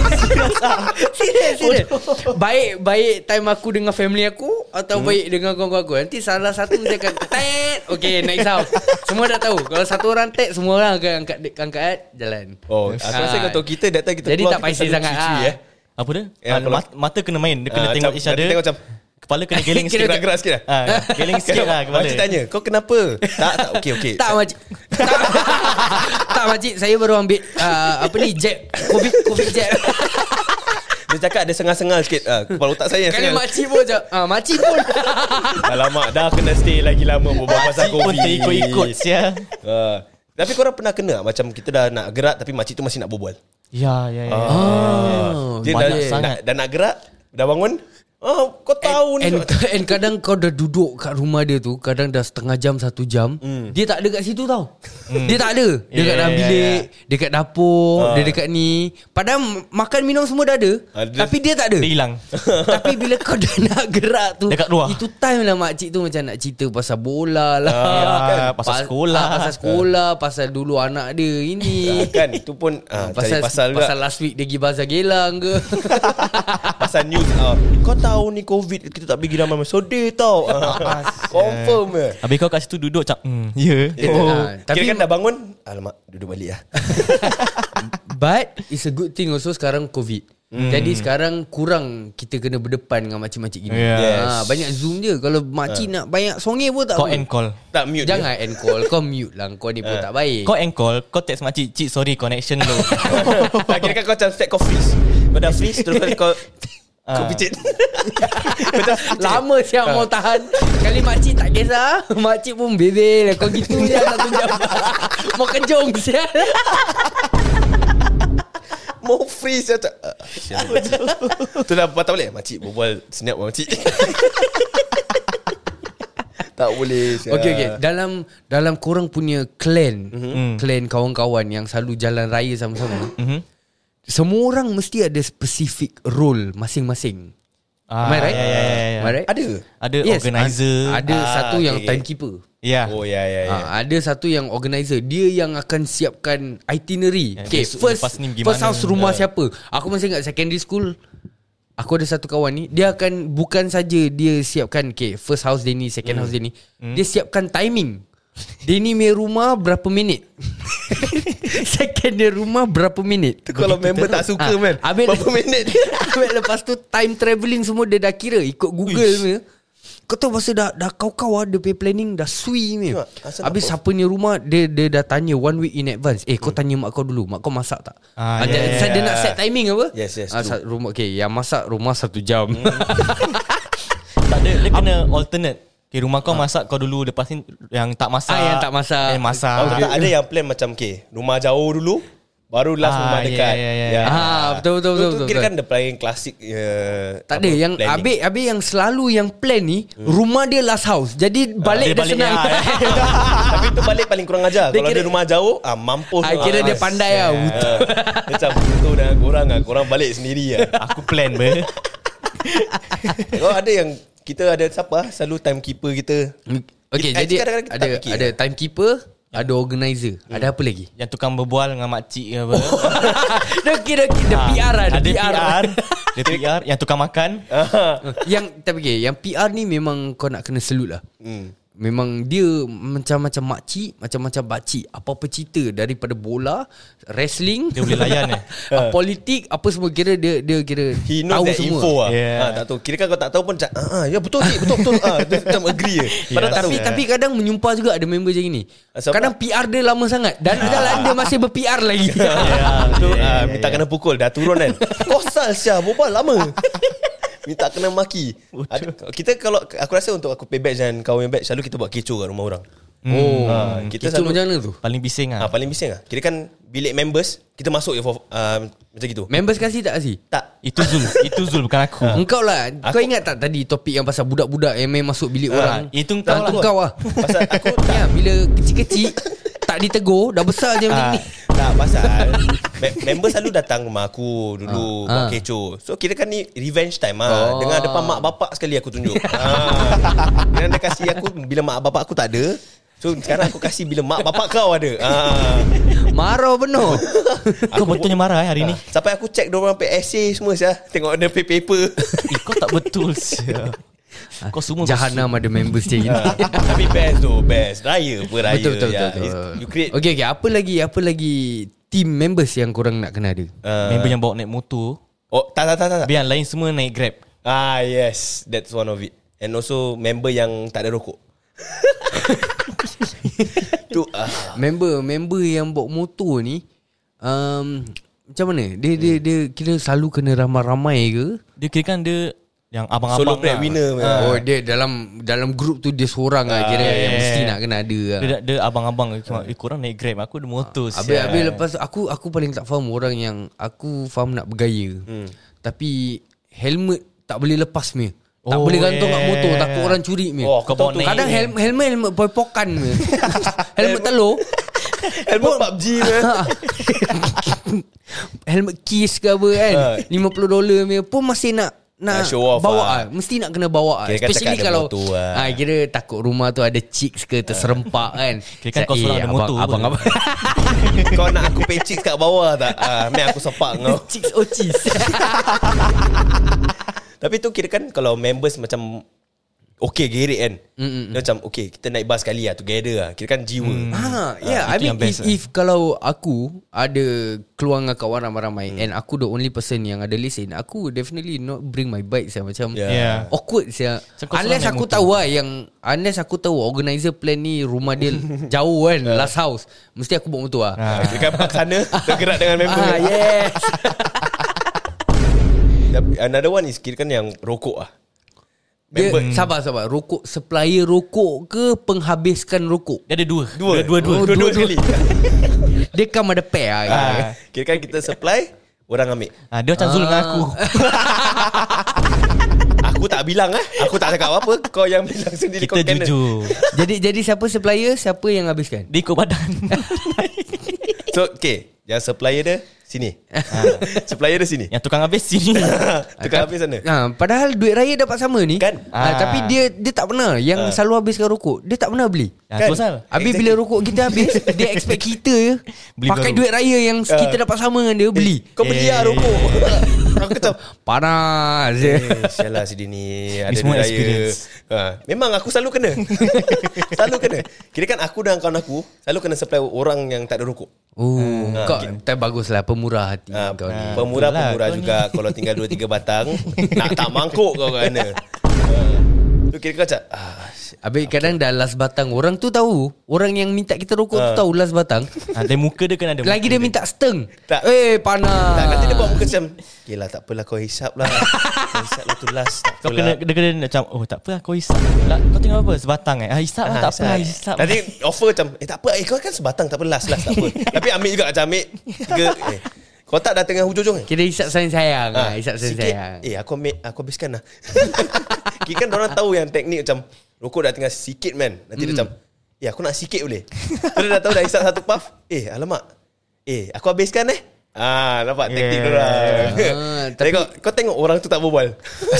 Speaker 1: Serius serius. Baik baik time aku dengan family aku atau
Speaker 2: Hmm.
Speaker 1: baik dengan kawan-kawan aku. Nanti salah satu dia akan tet. Okay next house. Semua dah tahu. Kalau satu orang tet semua orang akan angkat angkat jalan.
Speaker 2: Oh aku
Speaker 1: Ah.
Speaker 2: rasa kau tahu kita datang kita
Speaker 1: Jadi
Speaker 2: keluar
Speaker 1: tak
Speaker 2: kita
Speaker 1: paisi
Speaker 2: selalu
Speaker 1: sangat
Speaker 2: cuci,
Speaker 1: ah.
Speaker 2: eh.
Speaker 3: Apa dia?
Speaker 2: Ya,
Speaker 3: Ah,
Speaker 2: kalau-
Speaker 3: mat- mata kena main. Dia kena
Speaker 2: Ah,
Speaker 3: tengok
Speaker 2: macam-
Speaker 3: each other.
Speaker 2: nanti tengok macam
Speaker 3: Kepala kena geling sikit.
Speaker 2: gerak-gerak sikit lah.
Speaker 3: Ah, geling sikit lah kepala.
Speaker 2: Makcik tanya kau kenapa. Tak tak okey okey.
Speaker 1: Tak makcik. Tak, tak makcik, saya baru ambil uh, apa ni jab covid covid jab.
Speaker 2: Dia cakap ada sengal-sengal sikit ah, kepala otak saya
Speaker 1: Kali
Speaker 2: sengal.
Speaker 1: makcik pun macam ah makcik pun.
Speaker 2: Alamak dah kena stay lagi lama berbual pasal
Speaker 3: Makcik pun
Speaker 2: COVID.
Speaker 3: terikut-ikut sia.
Speaker 2: Ah. Tapi korang pernah kena tak? Macam kita dah nak gerak tapi makcik tu masih nak berbual.
Speaker 3: Ya, ya, ya.
Speaker 1: Oh,
Speaker 2: Dia dah,
Speaker 3: banyak
Speaker 2: dah,
Speaker 3: sangat.
Speaker 2: dah nak gerak, dah bangun. Oh, kau tahu ni.
Speaker 1: And, and kadang kau dah duduk kat rumah dia tu, kadang dah setengah jam, satu jam,
Speaker 2: Hmm.
Speaker 1: dia tak ada kat situ tau. Dia tak ada. Dia
Speaker 3: Yeah,
Speaker 1: kat dalam
Speaker 3: yeah,
Speaker 1: bilik, dia kat dapur,
Speaker 2: Ah.
Speaker 1: dia dekat ni. Padahal m- makan minum semua dah ada,
Speaker 2: Ah, dia-
Speaker 1: tapi dia tak ada.
Speaker 3: Dia hilang.
Speaker 1: Tapi bila kau dah nak gerak tu,
Speaker 3: Dekat luar.
Speaker 1: itu time lah makcik tu macam nak cerita pasal bola lah,
Speaker 3: Ah,
Speaker 1: kan?
Speaker 3: pasal
Speaker 1: Pas-
Speaker 3: sekolah.
Speaker 1: ah, pasal sekolah, pasal dulu anak dia ini.
Speaker 2: Ah, kan itu pun ah, cari
Speaker 1: pasal
Speaker 2: pasal juga.
Speaker 1: pasal last week dia pergi bazar Gelang ke.
Speaker 2: Pasal news ah, kau tahu ni COVID kita tak pergi ramai sedih tau. Ah, confirm je.
Speaker 3: Habis kau kat situ duduk macam hmm, ya.
Speaker 1: Oh.
Speaker 2: Oh.
Speaker 1: Tapi-
Speaker 2: Kira kan dah bangun, alamak duduk balik lah.
Speaker 1: But it's a good thing also sekarang COVID. Hmm. Jadi sekarang kurang kita kena berdepan dengan makcik-makcik gini.
Speaker 3: Yeah.
Speaker 2: Yes.
Speaker 1: Ha, banyak zoom je. Kalau makcik nak banyak songe pun tak
Speaker 3: Kau
Speaker 1: apa.
Speaker 3: end call.
Speaker 2: Tak mute.
Speaker 1: Jangan end call. Kau mute lah. Kau ni pun tak baik.
Speaker 3: Kau end call, kau text makcik, "Cik, sorry connection low."
Speaker 2: Tak kira kan kau macam set kau freeze. Kau dah freeze terus kau kau
Speaker 3: Ah.
Speaker 2: picit.
Speaker 1: Lama siap mau tahan. Kali makcik tak kisah. Makcik pun bebel. Kau gitu je satu jam. Mau kejong siap.
Speaker 2: Mau freeze macam ah, sial. Tu dah patah balik. Makcik berbual snap makcik. Tak Tak boleh.
Speaker 1: Okay, okay. Dalam dalam korang punya clan,
Speaker 3: Mm-hmm.
Speaker 1: clan kawan-kawan yang selalu jalan raya sama-sama,
Speaker 3: Mm-hmm.
Speaker 1: semua orang mesti ada specific role masing-masing.
Speaker 3: Ah,
Speaker 1: Am I right?
Speaker 3: ya, ya, ya, ya.
Speaker 1: Am I right?
Speaker 2: Ada.
Speaker 3: Ada
Speaker 1: Yes,
Speaker 3: organizer.
Speaker 1: ad- Ada
Speaker 2: Ah,
Speaker 1: satu
Speaker 2: okay,
Speaker 1: yang
Speaker 2: okay.
Speaker 1: timekeeper.
Speaker 3: Ya.
Speaker 2: Oh ya ya ya.
Speaker 1: Ha, ada satu yang organizer. Dia yang akan siapkan itinerary.
Speaker 3: Ya,
Speaker 1: Okay,
Speaker 3: besok
Speaker 1: first
Speaker 3: lepas ni pergi
Speaker 1: first
Speaker 3: mana?
Speaker 1: house rumah siapa. Aku masih ingat secondary school. Aku ada satu kawan ni, dia akan bukan saja dia siapkan, okay, first house dia ni, second house dia ni, dia siapkan timing. Dia ni punya rumah berapa minit. Second dia rumah berapa minit.
Speaker 2: Kalau member tak suka
Speaker 1: Ah,
Speaker 2: man,
Speaker 1: habis-
Speaker 2: berapa minit
Speaker 1: Habis lepas tu time travelling semua dia dah kira ikut Google punya. Kau tahu masa dah dah kau-kau ah, dia punya planning dah sui ni.
Speaker 2: Tengok, asal
Speaker 1: Habis
Speaker 2: nak
Speaker 1: siapa ni rumah dia dia dah tanya one week in advance. Eh kau tanya mak kau dulu, mak kau masak tak?
Speaker 3: Ah,
Speaker 1: Ah,
Speaker 3: ya,
Speaker 1: dia,
Speaker 3: ya,
Speaker 1: dia
Speaker 2: ya.
Speaker 1: nak set timing apa?
Speaker 2: Yes, yes,
Speaker 1: Ah,
Speaker 2: true.
Speaker 1: sa- rumah okay, yang masak rumah satu jam.
Speaker 3: Tak ada, dia kena alternate. Okay, rumah kau masak kau dulu, lepas ni yang tak masak.
Speaker 1: Ah, yang tak masak.
Speaker 3: Eh, masak.
Speaker 2: Oh, tak ada yang plan macam okay, rumah jauh dulu, baru last
Speaker 3: Ah,
Speaker 2: rumah
Speaker 3: ya,
Speaker 2: dekat.
Speaker 3: ya, ya, ya.
Speaker 1: Ah, betul, betul,
Speaker 2: Tu-
Speaker 1: betul,
Speaker 2: tu
Speaker 1: betul,
Speaker 2: kira
Speaker 1: betul.
Speaker 2: kan the paling klasik uh,
Speaker 1: Tak ada yang Abik Abik yang selalu yang plan ni rumah dia last house. Jadi balik
Speaker 3: dia
Speaker 1: dia,
Speaker 3: balik,
Speaker 1: senang.
Speaker 3: ya.
Speaker 2: Tapi tu balik paling kurang ajar.
Speaker 1: Dia
Speaker 2: Kalau
Speaker 1: kira-
Speaker 2: dia rumah jauh, ah mampus.
Speaker 1: Ah, kira dia pandai lah.
Speaker 2: Ah, macam tu dah korang ah, korang balik sendiri ah.
Speaker 3: Aku plan ber.
Speaker 2: Oh ada yang kita ada siapa ah, selalu timekeeper kita.
Speaker 1: Okay,
Speaker 2: Kita-
Speaker 1: jadi
Speaker 2: kadang-kadang kita
Speaker 1: ada
Speaker 2: tak fikir.
Speaker 1: ada timekeeper, ada organizer. Ada apa lagi?
Speaker 3: Yang tukang berbual dengan makcik ke apa.
Speaker 1: Dia kira dia P R lah,
Speaker 3: Ada
Speaker 1: dia
Speaker 3: P R. Dia P R. Yang tukang makan.
Speaker 1: Yang tapi okay, yang P R ni memang kau nak kena salute lah.
Speaker 2: Hmm.
Speaker 1: Memang dia macam-macam makcik, macam-macam bakcik. Apa-apa cerita daripada bola, wrestling,
Speaker 3: Dia boleh layan eh.
Speaker 1: uh, politik, apa semua kira dia dia kira
Speaker 2: He knows
Speaker 1: tahu
Speaker 2: that
Speaker 1: semua.
Speaker 2: info lah.
Speaker 3: Yeah.
Speaker 2: Ah, tak tahu. Kira kan kau tak tahu pun cak, ah, ah, ya betul cik, betul betul. Ah, dia macam agree je. Padahal tak
Speaker 1: Tapi
Speaker 2: tahu.
Speaker 1: tapi kadang menyumpah juga ada member macam ni.
Speaker 2: Asal
Speaker 1: Kadang P R dia lama sangat dan jalan dia masih ber-P R lagi.
Speaker 2: Ya, tu ah, minta kena pukul dah turun kan. Kosal sia, berbual lama. Minta kena maki. Ada, kita kalau aku rasa untuk aku pay back dan kau yang back selalu kita buat kecoh kat rumah orang.
Speaker 1: Oh,
Speaker 2: Ah,
Speaker 1: kita
Speaker 2: kita selalu
Speaker 1: macam mana tu?
Speaker 3: Paling bising
Speaker 2: Ah,
Speaker 3: lah.
Speaker 2: paling bising ah. Kira kan bilik members kita masuk je for, uh, macam gitu.
Speaker 1: Members kasih tak kasih?
Speaker 2: Tak.
Speaker 3: Itu Zul. Itu Zul bukan aku.
Speaker 1: Engkau lah. Kau ingat tak tadi topik yang pasal budak-budak yang main masuk bilik orang?
Speaker 3: Itu
Speaker 1: Tak,
Speaker 3: kau lah.
Speaker 1: kau lah.
Speaker 2: Pasal aku tak
Speaker 1: Ya, bila kecil-kecil tak ditegur, dah besar je macam
Speaker 3: Ah.
Speaker 1: ni.
Speaker 2: tak pasal me- member selalu datang rumah aku dulu
Speaker 1: Ah.
Speaker 2: buat kecoh. So kira kan ni revenge time ah.
Speaker 1: Oh.
Speaker 2: Dengan depan mak bapak sekali aku tunjuk. ah. Dia dia kasih aku bila mak bapak aku tak ada. So sekarang aku kasih bila mak bapak kau ada. Ah.
Speaker 1: Marah penuh.
Speaker 3: Kau betulnya marah eh hari ni.
Speaker 2: Sampai aku check diorang pay essay semua sia. Tengok ada pay paper.
Speaker 3: Eh, kau tak betul sia. Kau semua
Speaker 1: Jahanam ada members macam ni.
Speaker 2: Tapi best tu, best. Raya apa raya.
Speaker 1: Betul betul
Speaker 2: ya.
Speaker 1: betul. betul.
Speaker 2: It's- You create
Speaker 1: Okay okay, apa lagi apa lagi team members yang korang nak kena ada?
Speaker 2: uh,
Speaker 3: member yang bawa naik motor.
Speaker 2: Oh, tak tak tak tak. tak.
Speaker 3: Biar lain semua naik Grab.
Speaker 2: Ah, yes. That's one of it. And also member yang tak ada rokok. Tu ah.
Speaker 1: Member member yang bawa motor ni um, macam mana? Dia dia dia kira selalu kena ramai-ramai ke?
Speaker 3: Dia kira kan dia yang abang-abang
Speaker 2: Solo breadwinner.
Speaker 3: lah.
Speaker 1: Oh dia dalam dalam group tu dia seorang lah kira yang
Speaker 3: yeah.
Speaker 1: mesti nak kena ada lah.
Speaker 3: Dia, dia abang-abang cuma, eh korang naik Grab, aku ada motor.
Speaker 1: Habis,
Speaker 3: sial.
Speaker 1: habis lepas tu aku aku paling tak faham orang yang aku faham nak bergaya. Hmm. Tapi helmet tak boleh lepas punya. Tak
Speaker 3: Oh,
Speaker 1: boleh gantung kat
Speaker 3: yeah.
Speaker 1: motor, takut orang curi punya.
Speaker 2: Oh, aku
Speaker 3: Kau
Speaker 2: tahu
Speaker 3: bawa
Speaker 2: tu.
Speaker 3: naik.
Speaker 1: Kadang helmet helmet helmet poy-pokan punya. Helmet telur.
Speaker 2: Helmet P U B G ke?
Speaker 1: Helmet Kiss ke apa kan,
Speaker 2: Ha.
Speaker 1: lima puluh dolar punya pun masih nak nak
Speaker 2: Nak show off
Speaker 1: bawa
Speaker 2: lah.
Speaker 1: ah. Mesti nak kena bawa ah.
Speaker 2: Kira kan
Speaker 1: Especially
Speaker 2: cakap ada
Speaker 1: kalau
Speaker 2: motor lah.
Speaker 1: ah, kira takut rumah tu ada chicks ke terserempak kan.
Speaker 3: Kira kan kau seorang ada motor
Speaker 1: abang, abang,
Speaker 3: pun.
Speaker 1: abang.
Speaker 2: Kau nak aku pay chicks kat bawah tak? Ah, Mek aku sepak kau.
Speaker 1: Chicks oh cheese.
Speaker 2: Tapi tu kira kan kalau members macam okay gerik kan.
Speaker 1: Mm-mm.
Speaker 2: Dia macam okay kita naik bus sekali lah together lah. Kira kan jiwa.
Speaker 1: Ah, yeah, I
Speaker 3: itu
Speaker 1: mean
Speaker 3: yang best
Speaker 1: if,
Speaker 3: lah.
Speaker 1: if kalau aku ada keluar dengan kawan ramai-ramai
Speaker 2: Hmm.
Speaker 1: and aku the only person yang ada lesen, aku definitely not bring my bike saya macam
Speaker 2: Yeah.
Speaker 3: Yeah.
Speaker 1: awkward saya.
Speaker 3: So, kau
Speaker 1: Unless
Speaker 3: seorang
Speaker 1: aku
Speaker 3: naik
Speaker 1: tahu lah yang unless aku tahu organizer plan ni rumah dia jauh kan, last house, mesti aku bawa motor lah.
Speaker 3: Ah.
Speaker 2: Kira kan park sana tergerak dengan member.
Speaker 1: Ah, yes.
Speaker 2: Tapi another one is kira kan yang rokok lah.
Speaker 1: Dia,
Speaker 2: Member-
Speaker 1: sabar sabar. Rokok supplier rokok ke penghabiskan rokok?
Speaker 3: Dia ada dua.
Speaker 2: Dua
Speaker 3: Dia dua-dua.
Speaker 1: Oh,
Speaker 2: Dua-dua
Speaker 1: dua-dua.
Speaker 2: sekali.
Speaker 1: Dia come ada pair lah.
Speaker 2: Ah, kira kan kita supply, orang ambil.
Speaker 3: Ah, dia macam Zul dengan aku.
Speaker 2: Aku tak bilang eh. Aku tak cakap apa. Kau yang bilang sendiri.
Speaker 3: Kita jujur.
Speaker 1: Jadi jadi siapa supplier, siapa yang habiskan?
Speaker 3: Dia ikut badan.
Speaker 2: So okay, yang supplier dia sini. Supplier dia sini.
Speaker 3: Yang tukang habis sini.
Speaker 2: Tukang habis sana.
Speaker 1: Ha, padahal duit raya dapat sama ni.
Speaker 2: Kan?
Speaker 1: Ha,
Speaker 3: Ah.
Speaker 1: tapi dia dia tak pernah yang
Speaker 2: Ah.
Speaker 1: selalu habiskan rokok. Dia tak pernah beli.
Speaker 3: Ya,
Speaker 2: Kan?
Speaker 3: tu pasal.
Speaker 1: Habis
Speaker 2: Exactly.
Speaker 1: bila rokok kita habis, dia expect kita je
Speaker 3: Beli
Speaker 1: pakai
Speaker 3: baru.
Speaker 1: duit raya yang kita dapat sama dengan dia beli.
Speaker 2: Kau beli lah rokok. Aku kata
Speaker 1: Panas.
Speaker 2: Eh, sialah sini ni ada
Speaker 3: Ni semua
Speaker 2: duit raya.
Speaker 3: experience.
Speaker 2: Ha, memang aku selalu kena. Selalu kena. Kira kan aku dan kawan aku selalu kena supply orang yang tak ada rokok.
Speaker 1: Oh,
Speaker 2: Ah,
Speaker 1: kau
Speaker 2: okay.
Speaker 1: tak baguslah pemurah hati
Speaker 2: Ha,
Speaker 1: kau ni.
Speaker 2: pemurah-pemurah
Speaker 3: Itulah,
Speaker 2: juga. Kalau tinggal dua tiga batang nak tak mangkuk kau kat mana. Tu kira kau macam ah,
Speaker 1: Habis kadang dah last batang. Orang tu tahu. Orang yang minta kita rokok tu
Speaker 2: Ah.
Speaker 1: tahu last batang.
Speaker 3: Ha, dia muka dia kan ada.
Speaker 1: Lagi dia minta seteng.
Speaker 2: Tak.
Speaker 1: Eh panas.
Speaker 2: tak, nanti dia buat muka macam okay lah, tak apalah kau hisap lah. Kau hisap lah tu last. Tak
Speaker 3: Kau kena
Speaker 2: apalah.
Speaker 3: dia kena macam oh tak apa kau hisap. Lah, kau tinggal apa? Sebatang eh. Ah hisap lah,
Speaker 2: Ah,
Speaker 3: tak apa
Speaker 2: hisap.
Speaker 3: hisap.
Speaker 2: Nanti offer macam eh tak apa eh kau kan sebatang tak apa last last tak apa. Tapi ambil juga macam ambil tiga eh. Kau tak dah tengah hujung-hujung eh?
Speaker 1: Kira hisap sayang-sayang.
Speaker 2: Ah,
Speaker 1: Ah, hisap
Speaker 2: sikit,
Speaker 1: sayang-sayang.
Speaker 2: Eh aku ambil Aku habiskan lah. Kira kan orang tahu yang teknik macam rokok dah tinggal sikit man. Nanti dia macam eh aku nak sikit boleh. Terus dah tahu dah hisap satu puff. Eh alamak. Eh aku habiskan eh. Ah nampak teknik
Speaker 3: Yeah.
Speaker 2: dia orang.
Speaker 1: Ah,
Speaker 2: Tapi kau, kau tengok orang tu tak berbual.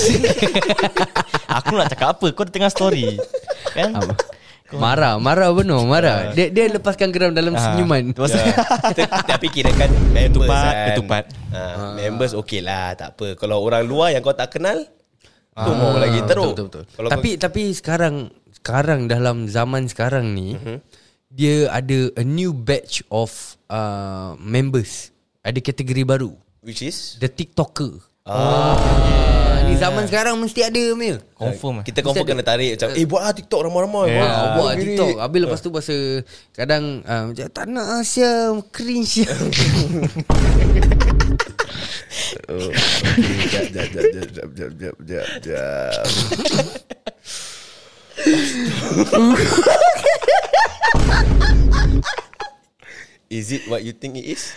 Speaker 3: Aku nak cakap apa? Kau tengah story. Kan?
Speaker 1: Marah, marah benar, marah. Dia dia lepaskan geram dalam
Speaker 3: Ah,
Speaker 1: senyuman.
Speaker 3: tu pasal.
Speaker 2: Tapi kira kan members
Speaker 3: Ketupat,
Speaker 2: kan.
Speaker 3: ketupat.
Speaker 2: Ah, members okey lah, tak apa. Kalau orang luar yang kau tak kenal, tu mau lagi teruk.
Speaker 1: Betul, betul, betul.
Speaker 2: Kalau
Speaker 1: Tapi tapi sekarang sekarang dalam zaman sekarang ni
Speaker 2: Mhm.
Speaker 1: dia ada a new batch of uh, members. Ada kategori baru.
Speaker 2: kau, which is
Speaker 1: The TikToker.
Speaker 2: ah,
Speaker 1: Ni zaman sekarang mesti ada Mil.
Speaker 3: Confirm.
Speaker 2: kita confirm kena tarik macam eh buatlah TikTok ramai-ramai.
Speaker 3: Yeah.
Speaker 2: Buat,
Speaker 1: Ah,
Speaker 2: buat
Speaker 1: buat
Speaker 2: gini.
Speaker 1: TikTok. Habis lepas tu pasal kadang uh, macam tak nak Asia cringe.
Speaker 2: Oh, okay. Jap, jap, jap, jap, jap, jap, jap, jap, jap. Is it what you think it is?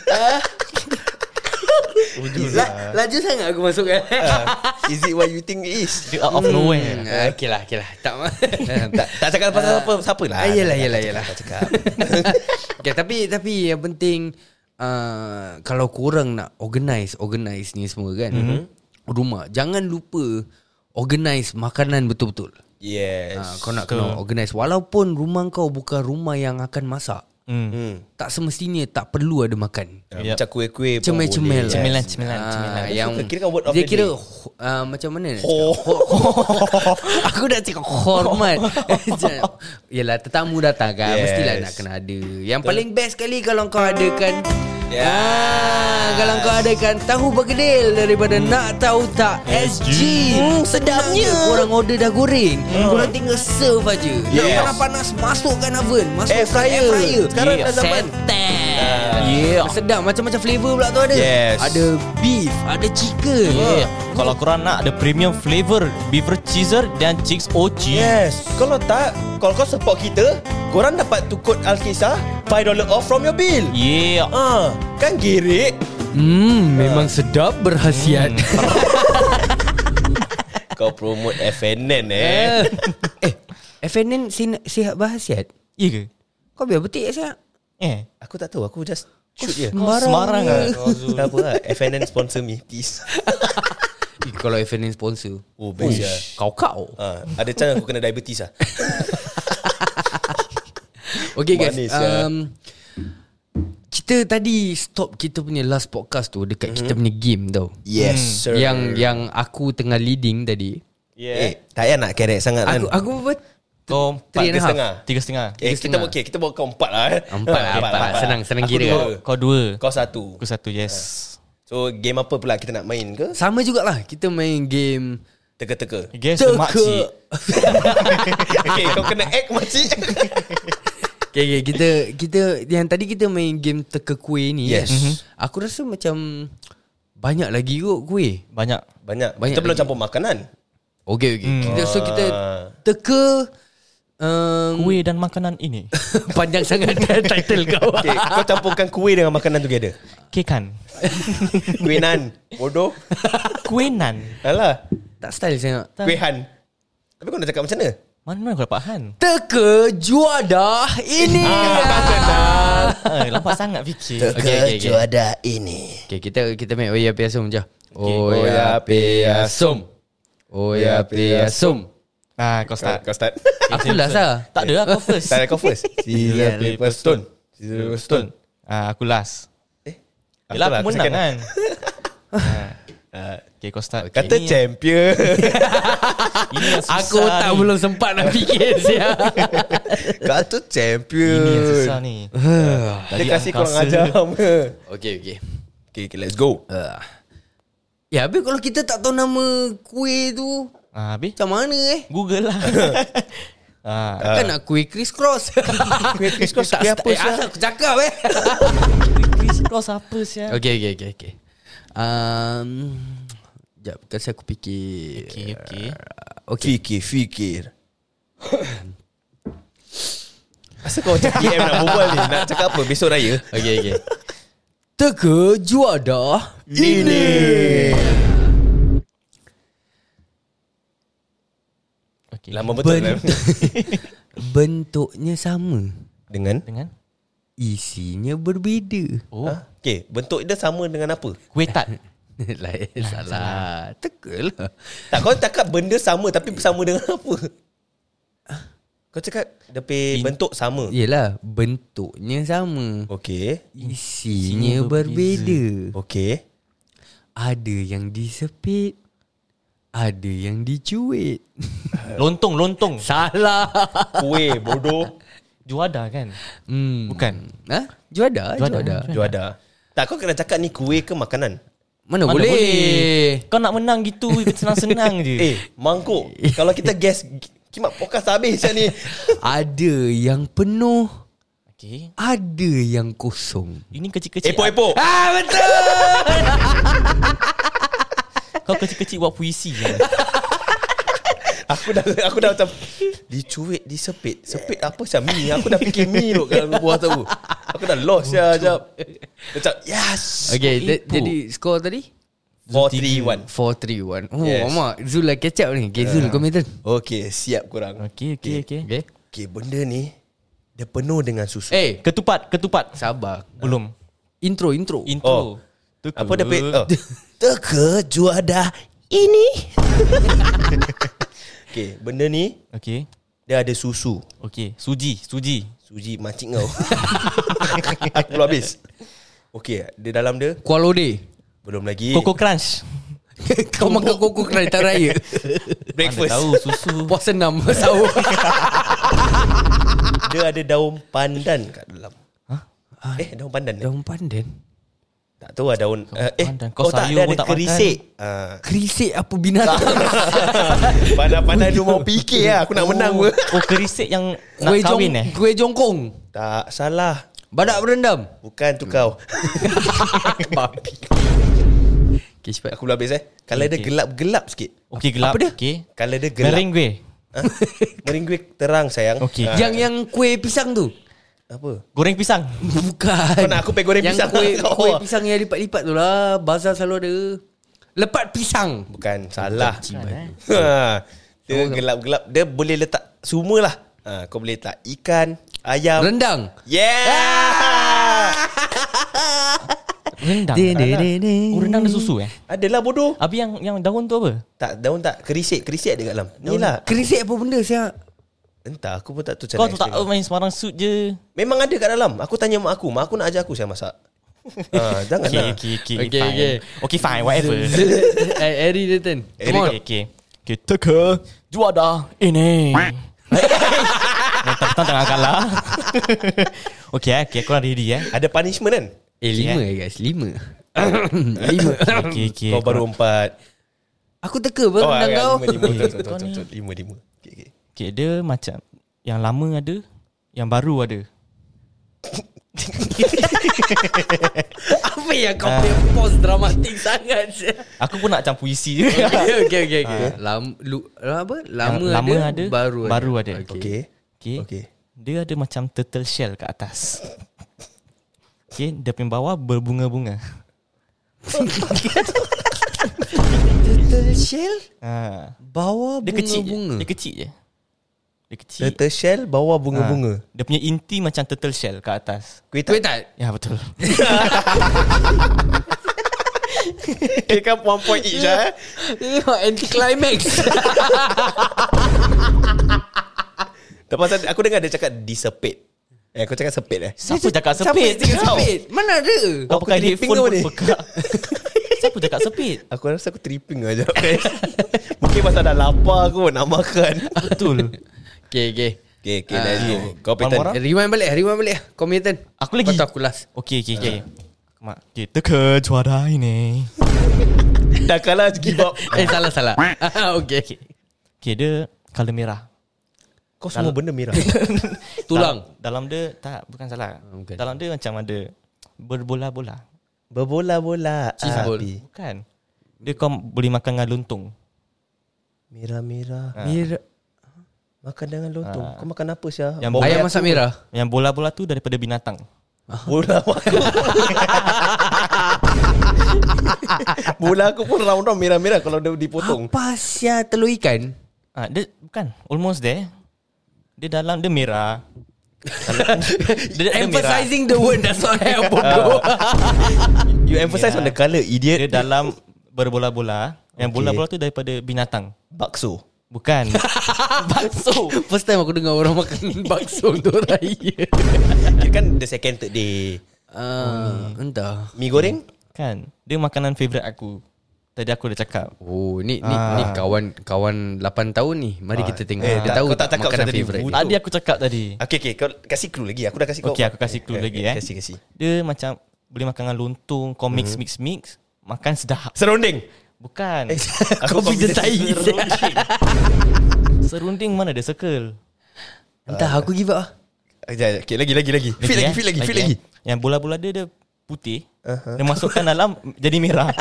Speaker 1: La, laju sangat aku masuk kan.
Speaker 2: Is it what you think it is?
Speaker 3: Dia out of nowhere.
Speaker 1: Hmm, okay lah, okay lah. Tak
Speaker 2: tak, tak cakap pasal apa siapa lah.
Speaker 1: Ah, yelah, yelah, yelah.
Speaker 2: Tak cakap.
Speaker 1: Okay, tapi tapi yang penting uh, kalau korang nak organize organize ni semua kan, mm-hmm. rumah jangan lupa organize makanan betul-betul.
Speaker 2: Yes.
Speaker 1: Uh, kau nak kena organize walaupun rumah kau bukan rumah yang akan masak.
Speaker 3: Hmm.
Speaker 2: Hmm.
Speaker 1: Tak semestinya tak perlu ada makan.
Speaker 2: Yep. Macam kuih-kuih pun
Speaker 1: Cemil-cemil.
Speaker 2: boleh.
Speaker 3: Cemilan,
Speaker 2: Yes.
Speaker 3: cemilan,
Speaker 1: Ah,
Speaker 3: cemilan.
Speaker 1: yang
Speaker 2: suka. Kira kan word of
Speaker 1: dia
Speaker 2: the
Speaker 1: kira
Speaker 2: day.
Speaker 1: uh, macam mana nak
Speaker 2: Ho.
Speaker 1: cakap? Aku dah cakap hormat. Yelah tetamu datang kan,
Speaker 2: Yes.
Speaker 1: mestilah nak kena ada. Yang paling best sekali kalau kau adakan
Speaker 2: Yes.
Speaker 1: ah, kalau kau adakan tahu berkedil daripada Nak Tahu Tak S G. Hmm, sedapnya. Korang order dah goreng, korang tinggal serve aja. Nak
Speaker 2: Yes.
Speaker 1: panas-panas masukkan oven, masukkan
Speaker 2: Air fryer.
Speaker 1: air fryer.
Speaker 2: Sekarang dah zaman.
Speaker 1: Sentet.
Speaker 3: Yeah.
Speaker 1: Sedap macam-macam flavor pula tu ada.
Speaker 2: Yes.
Speaker 1: Ada beef, ada chicken.
Speaker 3: Yeah. Kalau korang nak ada premium flavor beef cheeser dan chicks ochi.
Speaker 2: Yes. Kalau tak, kalau kau support kita, korang dapat tu kod Alkisah five dollars off from your bill.
Speaker 3: Yeah.
Speaker 2: Ah, kan gerik.
Speaker 1: Hmm, memang sedap berhasiat.
Speaker 2: Kau promote F N N eh.
Speaker 1: eh, F N N sin- sihat berhasiat.
Speaker 3: Ya ke?
Speaker 1: Kau biar betik sihat.
Speaker 3: Eh.
Speaker 2: Aku tak tahu, aku just shoot je.
Speaker 3: Sembarang ah.
Speaker 2: Tak apa lah, F N N sponsor me please.
Speaker 1: Eh, kalau F N N sponsor.
Speaker 2: Oh, best ya.
Speaker 1: Kau-kau.
Speaker 2: Ah, ada chance aku kena diabetes lah.
Speaker 1: Okay guys,
Speaker 2: Manis, ya.
Speaker 1: um, kita tadi stop kita punya last podcast tu dekat mm-hmm. kita punya game tau.
Speaker 2: Yes,
Speaker 3: Hmm.
Speaker 2: sir.
Speaker 1: Yang yang aku tengah leading tadi.
Speaker 2: Eh, tak payah nak kerek sangat kan.
Speaker 1: Aku aku apa?
Speaker 3: Kau empat
Speaker 1: Three and a half.
Speaker 2: setengah.
Speaker 3: Tiga setengah.
Speaker 2: Eh, kita
Speaker 1: setengah.
Speaker 2: okay, kita bawa kau empat lah eh.
Speaker 1: Empat lah, empat. Senang, senang
Speaker 2: Aku
Speaker 1: kira.
Speaker 2: dua.
Speaker 3: Kau dua.
Speaker 2: Kau satu.
Speaker 3: Aku satu, yes.
Speaker 2: So game apa pula kita nak main ke?
Speaker 1: Sama jugalah kita main game
Speaker 2: Teka-teka.
Speaker 3: Guess the makcik.
Speaker 2: Okay, kau kena act makcik.
Speaker 1: Okay, okay, kita kita yang tadi kita main game teka kuih ni.
Speaker 2: Yes.
Speaker 1: Kan? Mm-hmm. Aku rasa macam banyak lagi kot kuih.
Speaker 3: Banyak.
Speaker 2: Banyak.
Speaker 1: Banyak
Speaker 2: Kita belum
Speaker 1: lagi.
Speaker 2: campur makanan.
Speaker 1: Okay, okay.
Speaker 3: Hmm.
Speaker 1: Kita, so kita
Speaker 2: Ah.
Speaker 1: teka um,
Speaker 3: Kuih dan makanan ini.
Speaker 1: panjang sangat title kau.
Speaker 2: Okay, kau campurkan kuih dengan makanan together.
Speaker 3: Kekan.
Speaker 2: Kuih nan. Bodoh.
Speaker 3: Kuih nan.
Speaker 2: Alah.
Speaker 1: Tak style sangat.
Speaker 2: Kuih Han. Tapi kau nak cakap macam mana?
Speaker 3: Mana kau dapat Han?
Speaker 1: Teka juada ini.
Speaker 3: Ah, lambat sangat fikir.
Speaker 1: Okay, okay, okay.
Speaker 2: Juada ini.
Speaker 1: Okay, kita kita make Oya Piasum je.
Speaker 2: Oya Piasum.
Speaker 1: Oya Piasum.
Speaker 3: Ah, kau start.
Speaker 2: Kau start.
Speaker 1: Aku last lah.
Speaker 3: Tak ada, aku first.
Speaker 2: Start kau first. Scissors paper stone. Scissors paper stone.
Speaker 3: Ah, aku last.
Speaker 2: Eh,
Speaker 3: Yelah, aku menang
Speaker 2: second.
Speaker 3: kan. Ah.
Speaker 2: Ah,
Speaker 3: Okay, kau start.
Speaker 2: Kata
Speaker 3: Okay, ini-
Speaker 2: champion.
Speaker 3: Ini yang susah
Speaker 1: Aku tak
Speaker 3: ni.
Speaker 1: belum sempat nak fikir sia.
Speaker 2: Kata champion.
Speaker 3: Ini yang susah ni.
Speaker 2: Dia kasih korang ajar.
Speaker 1: Okay, okay.
Speaker 2: Okay, okay, let's go.
Speaker 1: Uh. Ya, habis kalau kita tak tahu nama kuih tu,
Speaker 3: Ah, habis?
Speaker 1: macam mana eh?
Speaker 3: Google lah. ah,
Speaker 1: Kan nak kuih criss cross.
Speaker 2: Kuih criss cross,
Speaker 1: Tak
Speaker 2: kuih
Speaker 1: start-
Speaker 2: apa,
Speaker 1: eh,
Speaker 2: Syah?
Speaker 1: asal aku cakap eh.
Speaker 3: Criss cross apa sih?
Speaker 1: Okay, okay, okay, okay. Um, Sekejap, kasi aku fikir.
Speaker 3: Okay, okay.
Speaker 1: Okay.
Speaker 2: Fikir, fikir. Asal kau macam P M nak berbual ni? Nak cakap apa? Besok raya?
Speaker 1: Okay, okay. Teka juada ini.
Speaker 3: Okay.
Speaker 2: Lama betul kan?
Speaker 1: Bentuknya sama,
Speaker 2: Dengan?
Speaker 3: Dengan?
Speaker 1: isinya berbeza.
Speaker 3: Oh,
Speaker 2: Ha? Okay, bentuk dia sama dengan apa?
Speaker 3: kuih tat.
Speaker 1: Lain salah. Teka lah.
Speaker 2: Tak, kau cakap benda sama tapi sama dengan apa? Kau cakap dia pay bentuk sama.
Speaker 1: Yelah, bentuknya sama,
Speaker 2: Okay.
Speaker 1: isinya
Speaker 3: Isinya
Speaker 1: berbeza.
Speaker 2: Okay.
Speaker 1: Ada yang disepit, ada yang dicuit.
Speaker 3: Lontong, lontong.
Speaker 1: Salah.
Speaker 2: Kuih, bodoh.
Speaker 3: Juada kan?
Speaker 1: Hmm.
Speaker 3: Bukan.
Speaker 1: Ha? Juada,
Speaker 3: Juada.
Speaker 1: juada.
Speaker 2: Juada. Tak, kau kena cakap ni kuih ke makanan?
Speaker 1: Mana,
Speaker 3: Mana
Speaker 1: boleh?
Speaker 3: boleh? Kau nak menang gitu senang-senang je.
Speaker 2: Eh, mangkuk. Kalau kita guess, kimak podcast habis macam ni.
Speaker 1: Ada yang penuh,
Speaker 3: Okay.
Speaker 1: ada yang kosong.
Speaker 3: Ini kecil-kecil.
Speaker 2: Epok-epok.
Speaker 1: Ah, betul.
Speaker 3: Kau kecil-kecil buat puisi je.
Speaker 2: Aku dah aku dah macam dicuit, disepit. Sepit apa macam mi? Aku dah fikir mi tu kalau buah tahu. Aku dah lost ya jap. Macam yes.
Speaker 1: Okay,
Speaker 3: Epok.
Speaker 1: jadi skor tadi
Speaker 2: four three one.
Speaker 1: four three one. Oh,
Speaker 2: Yes.
Speaker 1: Mak Zul lah catch up ni. Okay, Zul kau minta.
Speaker 2: Okay, siap korang.
Speaker 3: Okay, okay, okay.
Speaker 1: Okay.
Speaker 2: Okay, benda ni dia penuh dengan susu.
Speaker 1: Eh,
Speaker 3: Ketupat, ketupat.
Speaker 1: sabar.
Speaker 3: Belum.
Speaker 1: Intro, intro.
Speaker 3: Intro.
Speaker 2: Oh. Apa dia pay? Oh. Teka juada ini. Okay, benda ni
Speaker 3: Okay.
Speaker 2: dia ada susu.
Speaker 3: Okay. Suji, suji.
Speaker 2: Suji macik kau. Aku belum habis. Okay, dia dalam dia
Speaker 1: Kuala Ode.
Speaker 2: belum lagi.
Speaker 3: Coco Crunch.
Speaker 1: Kau makan koko kereta raya.
Speaker 2: breakfast.
Speaker 3: Mana tahu susu.
Speaker 1: Puasa enam sahur.
Speaker 2: Dia ada daun pandan kat dalam. Eh, daun pandan. eh?
Speaker 1: Daun pandan.
Speaker 2: Tak tahu lah daun uh, Eh
Speaker 3: pandan.
Speaker 2: kau,
Speaker 3: Kau
Speaker 2: tak
Speaker 3: sayur
Speaker 2: ada,
Speaker 3: pun
Speaker 2: ada
Speaker 3: tak
Speaker 2: kerisik uh,
Speaker 1: Kerisik apa binatang?
Speaker 2: Pandai-pandai dia mau fikir lah. Aku nak menang pun.
Speaker 3: Oh, kerisik yang nak
Speaker 1: Kuih jong,
Speaker 3: kahwin eh?
Speaker 1: kuih jongkong.
Speaker 2: Tak salah.
Speaker 1: Badak berendam.
Speaker 2: Bukan tu kau.
Speaker 1: Babi. Okay, cepat.
Speaker 2: Aku belum habis eh. Kalau dia
Speaker 3: okay.
Speaker 2: gelap-gelap sikit.
Speaker 3: Okay, gelap.
Speaker 1: Apa dia?
Speaker 3: Okay.
Speaker 2: Kalau dia gelap
Speaker 3: Merengue.
Speaker 2: ha? Merengue terang sayang.
Speaker 3: Okay.
Speaker 2: Ah,
Speaker 1: Yang yang kuih pisang tu.
Speaker 2: Apa?
Speaker 3: Goreng pisang.
Speaker 1: Bukan.
Speaker 2: Kau nak aku pay goreng
Speaker 1: yang
Speaker 2: pisang?
Speaker 1: Kuih,
Speaker 2: Kau
Speaker 1: kuih
Speaker 2: awak.
Speaker 1: pisang yang lipat-lipat tu lah. Bazar selalu ada. Lepat pisang.
Speaker 2: Bukan, salah.
Speaker 3: eh.
Speaker 2: Ha. Dia gelap-gelap. Dia boleh letak semua lah. Ha, kau boleh letak ikan, ayam.
Speaker 1: Rendang.
Speaker 2: Yeah.
Speaker 3: Rendang.
Speaker 1: Din, din, din, din.
Speaker 3: Oh, rendang ada susu eh?
Speaker 2: Adalah bodoh.
Speaker 3: Habis yang yang daun tu apa?
Speaker 2: Tak, daun tak. Kerisik. Kerisik ada kat dalam. Ni lah.
Speaker 1: Kerisik apa benda siap?
Speaker 2: Entah, aku pun tak tahu
Speaker 3: Kau
Speaker 2: cara
Speaker 3: tu tak
Speaker 2: explain.
Speaker 3: main sembarang suit je.
Speaker 2: Memang ada kat dalam. Aku tanya mak aku. Mak aku nak ajar aku saya masak. ha, jangan
Speaker 3: Okay,
Speaker 2: lah.
Speaker 3: okay, okay,
Speaker 1: Okay,
Speaker 3: fine.
Speaker 1: okay.
Speaker 3: Okay, fine, whatever.
Speaker 1: Eh, Eri dia turn.
Speaker 2: Eri
Speaker 1: Come on.
Speaker 3: Okay, okay. Okay, teka juada ini. Mentang-mentang tengah kalah. Okay, eh, okay, korang ready eh.
Speaker 2: Ada punishment kan?
Speaker 1: Eh, lima eh guys. Lima. Lima.
Speaker 3: Okay, okay.
Speaker 2: Kau baru empat.
Speaker 1: Aku teka apa
Speaker 2: Oh,
Speaker 1: rendang
Speaker 2: agak
Speaker 1: kau.
Speaker 2: lima, lima. Betul, betul,
Speaker 3: Kau
Speaker 2: betul,
Speaker 3: ni.
Speaker 2: betul. Lima, lima. Okay, okay.
Speaker 3: Okay, dia macam yang lama ada, yang baru ada.
Speaker 1: Apa yang kau punya pause dramatik sangat?
Speaker 3: Aku pun nak macam puisi je.
Speaker 1: Okay, okay, okay. okay. Lam, lu, apa? Lama,
Speaker 3: Yang lama
Speaker 1: ada,
Speaker 3: ada,
Speaker 1: baru ada.
Speaker 3: baru ada.
Speaker 2: Okay.
Speaker 3: Okay.
Speaker 2: Okay.
Speaker 3: Dia ada macam turtle shell kat atas. Okay, dia punya bawah berbunga-bunga.
Speaker 2: Turtle shell
Speaker 3: ha.
Speaker 2: bawa
Speaker 3: Dia kecil je.
Speaker 2: bunga-bunga.
Speaker 3: Dia kecil je. Dia kecil.
Speaker 2: Turtle shell bawa bunga-bunga.
Speaker 3: Ha. Dia punya inti macam turtle shell kat atas.
Speaker 2: Kuih
Speaker 1: Kuih
Speaker 2: tak?
Speaker 1: tak?
Speaker 3: Ya betul.
Speaker 2: Kira kan one point each lah.
Speaker 1: Tengok anti climax.
Speaker 2: Lepas tu aku dengar dia cakap disepit. Eh aku cakap sepit eh.
Speaker 3: Siapa cakap sepit?
Speaker 1: Siapa sepit? Mana ada?
Speaker 3: Kau
Speaker 2: Aku
Speaker 3: pakai
Speaker 2: tripping
Speaker 3: headphone
Speaker 2: ke
Speaker 3: pun
Speaker 2: ni?
Speaker 3: pekak. Siapa cakap sepit?
Speaker 2: Aku rasa aku tripping aja. Mungkin pasal dah lapar aku nak makan.
Speaker 3: Betul.
Speaker 1: Okay, okay.
Speaker 2: Okay, okay,
Speaker 1: Ah,
Speaker 2: let's go.
Speaker 1: yeah.
Speaker 2: Kau
Speaker 3: One more
Speaker 2: Petan.
Speaker 3: round?
Speaker 1: Rewind balik, rewind balik. Kau punya turn.
Speaker 3: Aku lagi.
Speaker 1: Lepas tu aku last.
Speaker 3: Okey, okey, okey. Mak, kita ke juara ini.
Speaker 2: Dah kalah give up.
Speaker 1: Eh, salah, salah. Okay.
Speaker 3: Okey, dia color merah.
Speaker 2: Kau semua benda merah.
Speaker 1: Tulang.
Speaker 3: Dalam, dalam dia tak, bukan salah.
Speaker 1: bukan.
Speaker 3: Dalam dia macam ada berbola-bola.
Speaker 2: Berbola-bola
Speaker 1: Cheese ball.
Speaker 2: api.
Speaker 3: Bukan. Dia kau boleh makan dengan lontong.
Speaker 2: Merah-merah.
Speaker 1: Merah.
Speaker 2: Makan dengan lontong.
Speaker 3: Ah.
Speaker 2: Kau makan apa Syah?
Speaker 3: Yang
Speaker 2: Bola
Speaker 1: Ayam
Speaker 2: aku-
Speaker 1: masak merah.
Speaker 3: Yang bola-bola tu daripada binatang.
Speaker 2: Bola aku. Bola aku pun round-round merah-merah kalau dia dipotong.
Speaker 1: Apa sia telur ikan?
Speaker 3: Ah, dia bukan almost there. Dia dalam dia merah. Dalam, dia, dia
Speaker 1: Emphasizing the word does not help, bodoh.
Speaker 2: You emphasize
Speaker 3: Merah.
Speaker 2: on the colour, idiot.
Speaker 3: Dia dalam berbola-bola. Yang
Speaker 2: Okay.
Speaker 3: bola-bola tu daripada binatang.
Speaker 2: Bakso.
Speaker 3: Bukan.
Speaker 1: Bakso. First time aku dengar orang makan bakso untuk raya.
Speaker 2: Kira kan the second third day.
Speaker 1: Ah, entah.
Speaker 2: Mi goreng?
Speaker 3: Kan. Dia makanan favourite aku. Tadi aku dah cakap.
Speaker 1: Oh, ni ni
Speaker 3: Ah.
Speaker 1: ni kawan kawan lapan tahun ni. Mari kita tengok.
Speaker 2: Eh,
Speaker 1: Dia
Speaker 2: tak-
Speaker 1: tahu
Speaker 2: kau tak
Speaker 1: tak
Speaker 2: cakap
Speaker 1: makanan
Speaker 2: pasal tadi.
Speaker 1: favorite.
Speaker 2: Betul.
Speaker 1: dia.
Speaker 3: Tadi aku cakap tadi.
Speaker 2: Okay, okay. Kau kasih clue lagi. Aku dah kasih kau.
Speaker 3: Okay, aku kasih clue lagi eh.
Speaker 2: Kasih, kasih.
Speaker 3: Dia macam boleh makan dengan lontong. Kau mix, mix, mix. Makan sedap.
Speaker 2: Serunding.
Speaker 3: Bukan.
Speaker 2: Aku
Speaker 1: confident tai.
Speaker 3: Serunding. Serunding mana ada circle.
Speaker 1: Entah, aku give up ah.
Speaker 2: Sekejap, okay, lagi, lagi, lagi. Fit lagi,
Speaker 3: eh.
Speaker 2: fit lagi, fit
Speaker 3: eh.
Speaker 2: lagi.
Speaker 3: Yang bola-bola dia dia putih. Uh-huh. Dia masukkan dalam jadi merah.